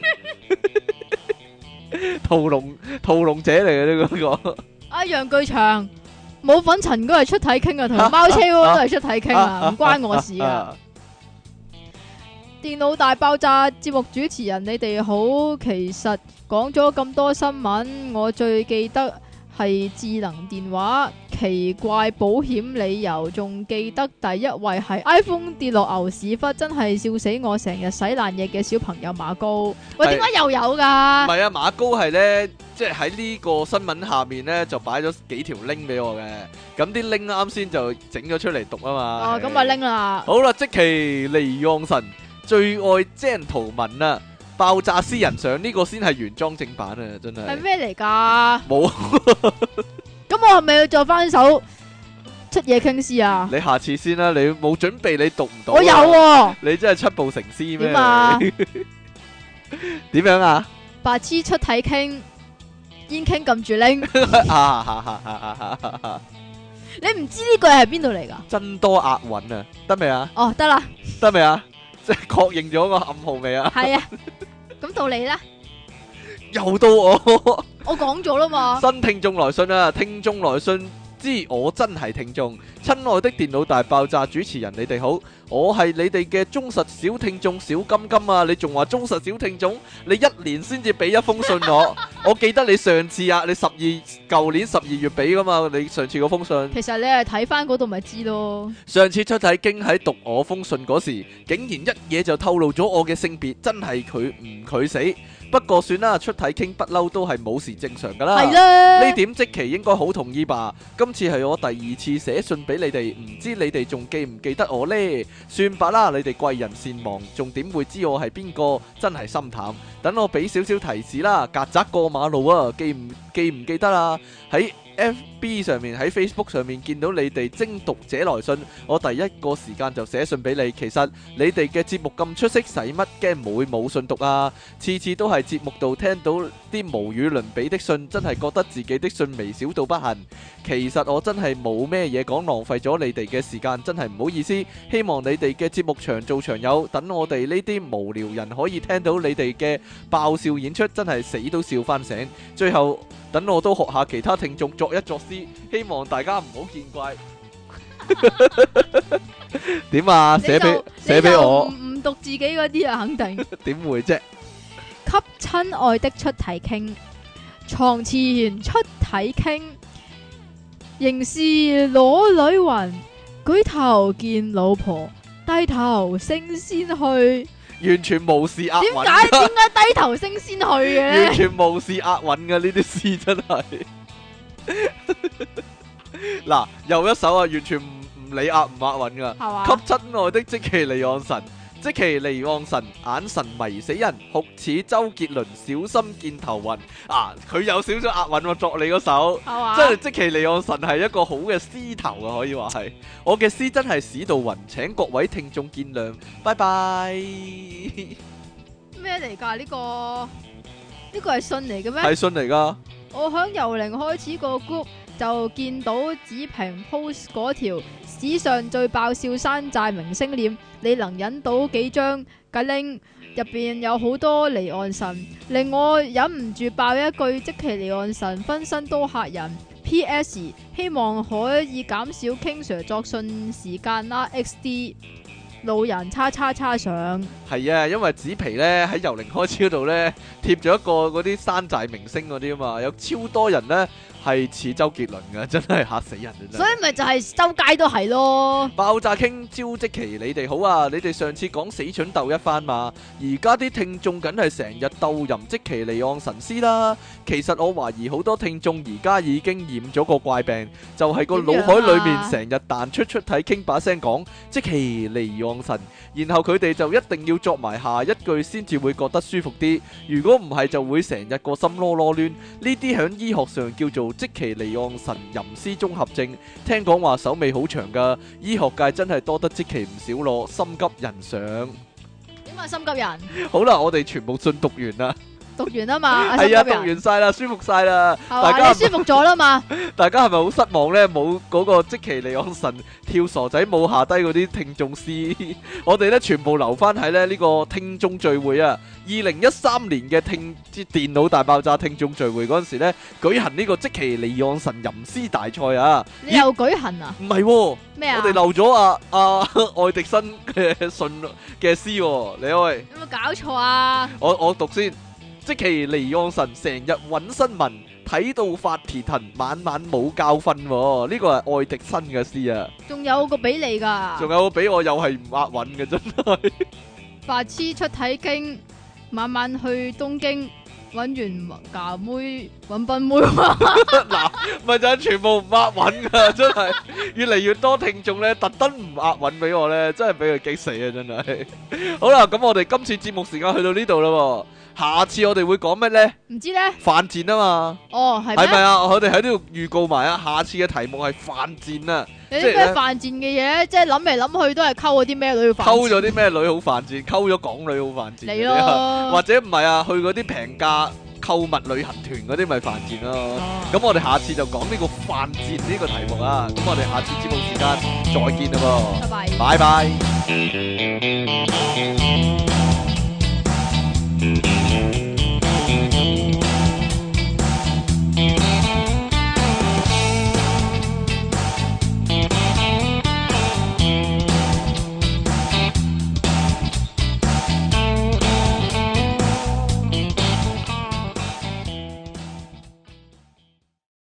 屠龍者嚟嘅呢個。 啊，楊巨祥冇粉塵嗰個係出體傾啊，同埋貓車嗰個都係出體傾啊，唔關我事啊。電腦大爆炸節目主持人，你哋好。其實講咗咁多新聞，我最記得係智能電話、奇怪保險理由，仲記得第一位係 iPhone 跌落牛屎忽，真係笑死我！成日洗爛嘢嘅小朋友馬高，喂，點解又有㗎？ 唔係啊，馬高係呢，即係喺呢個新聞下面呢，就擺咗幾條 link 俾我嘅，咁啲 link 啱先就整咗出嚟讀啊嘛。 哦，咁啊拎啦。 好啦，積淇離岸神最愛精圖文啊！爆炸詩人相呢個先係原裝正版啊，真係。 係咩嚟㗎？ 冇。 咁我係咪要做翻首出嘢傾詩啊？ 你下次先啦，你冇準備你讀唔到。 我有喎。 你真係七步成詩咩？ 點啊？ 點樣啊？ 白痴出體傾，煙傾撳住拎。你唔知呢句係邊度嚟㗎？ 真多押韻啊！得未啊？ 哦，得啦。 得未啊？即係確認咗個暗號未啊？ 係啊。咁到你啦。 又到我。 我講咗啦嘛。 新聽眾來信啊！聽眾來信知我真係聽眾。親愛的電腦大爆炸主持人，你哋好，我係你哋嘅忠實小聽眾小金金啊！你仲話忠實小聽眾？你1年先至俾一封信我。我記得你上次啊，你舊年12月俾噶嘛？你上次嗰封信。 其實你係睇翻嗰度咪知咯。 上次出體經喺讀我封信嗰時，竟然一嘢就透露咗我嘅性別，真係佢唔佢死。不過算啦，出體傾不嬲都係冇事正常噶啦。 係啦。 呢點積淇應該好同意吧？今次係我第2次寫信俾你哋，唔知你哋仲記唔記得我呢？算吧啦，你哋貴人善忘，仲點會知我係邊個？真係心淡。等我俾少少提示啦，曱甴過馬路啊，記唔記得啊？喺 FB 上面喺 Facebook 上面見到你哋精讀者來信，我第一個時間就寫信俾你。其實你哋嘅節目咁出色，使乜驚會冇信讀啊？次次都係節目度聽到啲無與倫比的信，真係覺得自己的信微小到不行。其實我真係冇咩嘢講，浪費咗你哋嘅時間，真係唔好意思。希望你哋嘅節目長做長有，等我哋呢啲無聊人可以聽到你哋嘅爆笑演出，真係死都笑翻醒。最後等我都學下其他聽眾作一作詩，希望大家唔好見怪。點啊？寫俾我， 唔讀自己嗰啲啊，肯定。 點會啫？ 給親愛的出體傾，床前出體傾，仍是裸女魂，舉頭見老婆，低頭升仙去。 完全無視押韻。 點解低頭升仙去嘅？ 完全無視押韻嘅呢啲詩真係。嗱，又一首啊，完全唔理押唔押韻噶。 係嘛？ 給親愛的積淇離岸神，積淇離岸神，眼神迷死人，酷似周杰倫，小心見頭暈。啊，佢有少少押韻喎，作你嗰首。 係嘛？ 真係積淇離岸神係一個好嘅詩頭啊，可以話係。我嘅詩真係屎到暈，請各位聽眾見諒，拜拜。 咩嚟㗎？呢個係信嚟嘅咩？ 係信嚟噶。 我響由零開始個 group 就見到子平 post 嗰條史上最爆笑山寨明星臉，你能引到幾張嘅 link？入邊有好多離岸神，令我忍唔住爆一句：積淇離岸神分身都嚇人。P.S. 希望可以減少 King Sir 作信時間啦。XD 老人叉叉叉上。 係啊，因為紙皮咧喺由零開始嗰度咧貼咗一個嗰啲山寨明星嗰啲啊嘛，有超多人咧係似周杰倫嘅，真係嚇死人啊！真係所以咪就係周街都係咯。 爆炸傾招積淇，你哋好啊！你哋上次講死蠢鬥一番嘛，而家啲聽眾梗係成日鬥吟積淇離岸神詩啦。其實我懷疑好多聽眾而家已經染咗個怪病，就係個腦海裏面成日彈出體傾把聲講積淇離岸神，然後佢哋就一定要作埋下一句先至會覺得舒服啲。如果唔係就會成日個心囉囉攣。呢啲響醫學上叫做積淇離岸神吟詩綜合症。聽講話手尾好長噶，醫學界真係多得積淇唔少咯，心急人上。 點啊，心急人？ 好啦，我哋全部信讀完啦。 讀完啊嘛， 係啊，讀完晒啦，舒服晒啦。 係嘛？你舒服咗啦嘛？ 大家係咪好失望呢？冇嗰個積淇離岸神跳傻仔舞下低嗰啲聽眾詩，我哋呢全部留翻喺呢個聽眾聚會啊！2013年嘅電腦大爆炸聽眾聚會嗰陣時呢，舉行呢個積淇離岸神吟詩大賽啊！ 你又舉行啊？ 唔係喎， 咩啊？ 我哋漏咗愛迪生嘅信嘅詩喎，你喂， 有冇搞錯啊？ 我讀先。積淇離岸神成日揾新聞，睇到發蹄騰，晚晚冇覺瞓。呢個係愛迪生嘅詩啊！ 仲有個俾你噶， 仲有個俾我又係唔押韻嘅，真係白痴出體經，晚晚去東京揾完假妹揾賓妹。 嗱，咪就係全部唔押韻噶，真係越嚟越多聽眾咧，特登唔押韻俾我咧，真係俾佢激死啊！真係。好啦，咁我哋今次節目時間去到呢度啦。下次我哋會講咩呢？ 唔知呢？ 犯賤啊嘛！ 哦，係咪啊？我哋喺呢度預告埋啊！下次嘅題目係犯賤啊！ 有啲咩犯賤嘅嘢？即係諗嚟諗去都係溝嗰啲咩女犯賤？ 溝咗啲咩女好犯賤？溝咗港女好犯賤？ 你咯， 或者唔係啊？去嗰啲平價購物旅行團嗰啲咪犯賤咯？咁我哋下次就講呢個犯賤呢個題目啊！咁我哋下次節目時間再見啦噃！ 拜拜。 拜拜。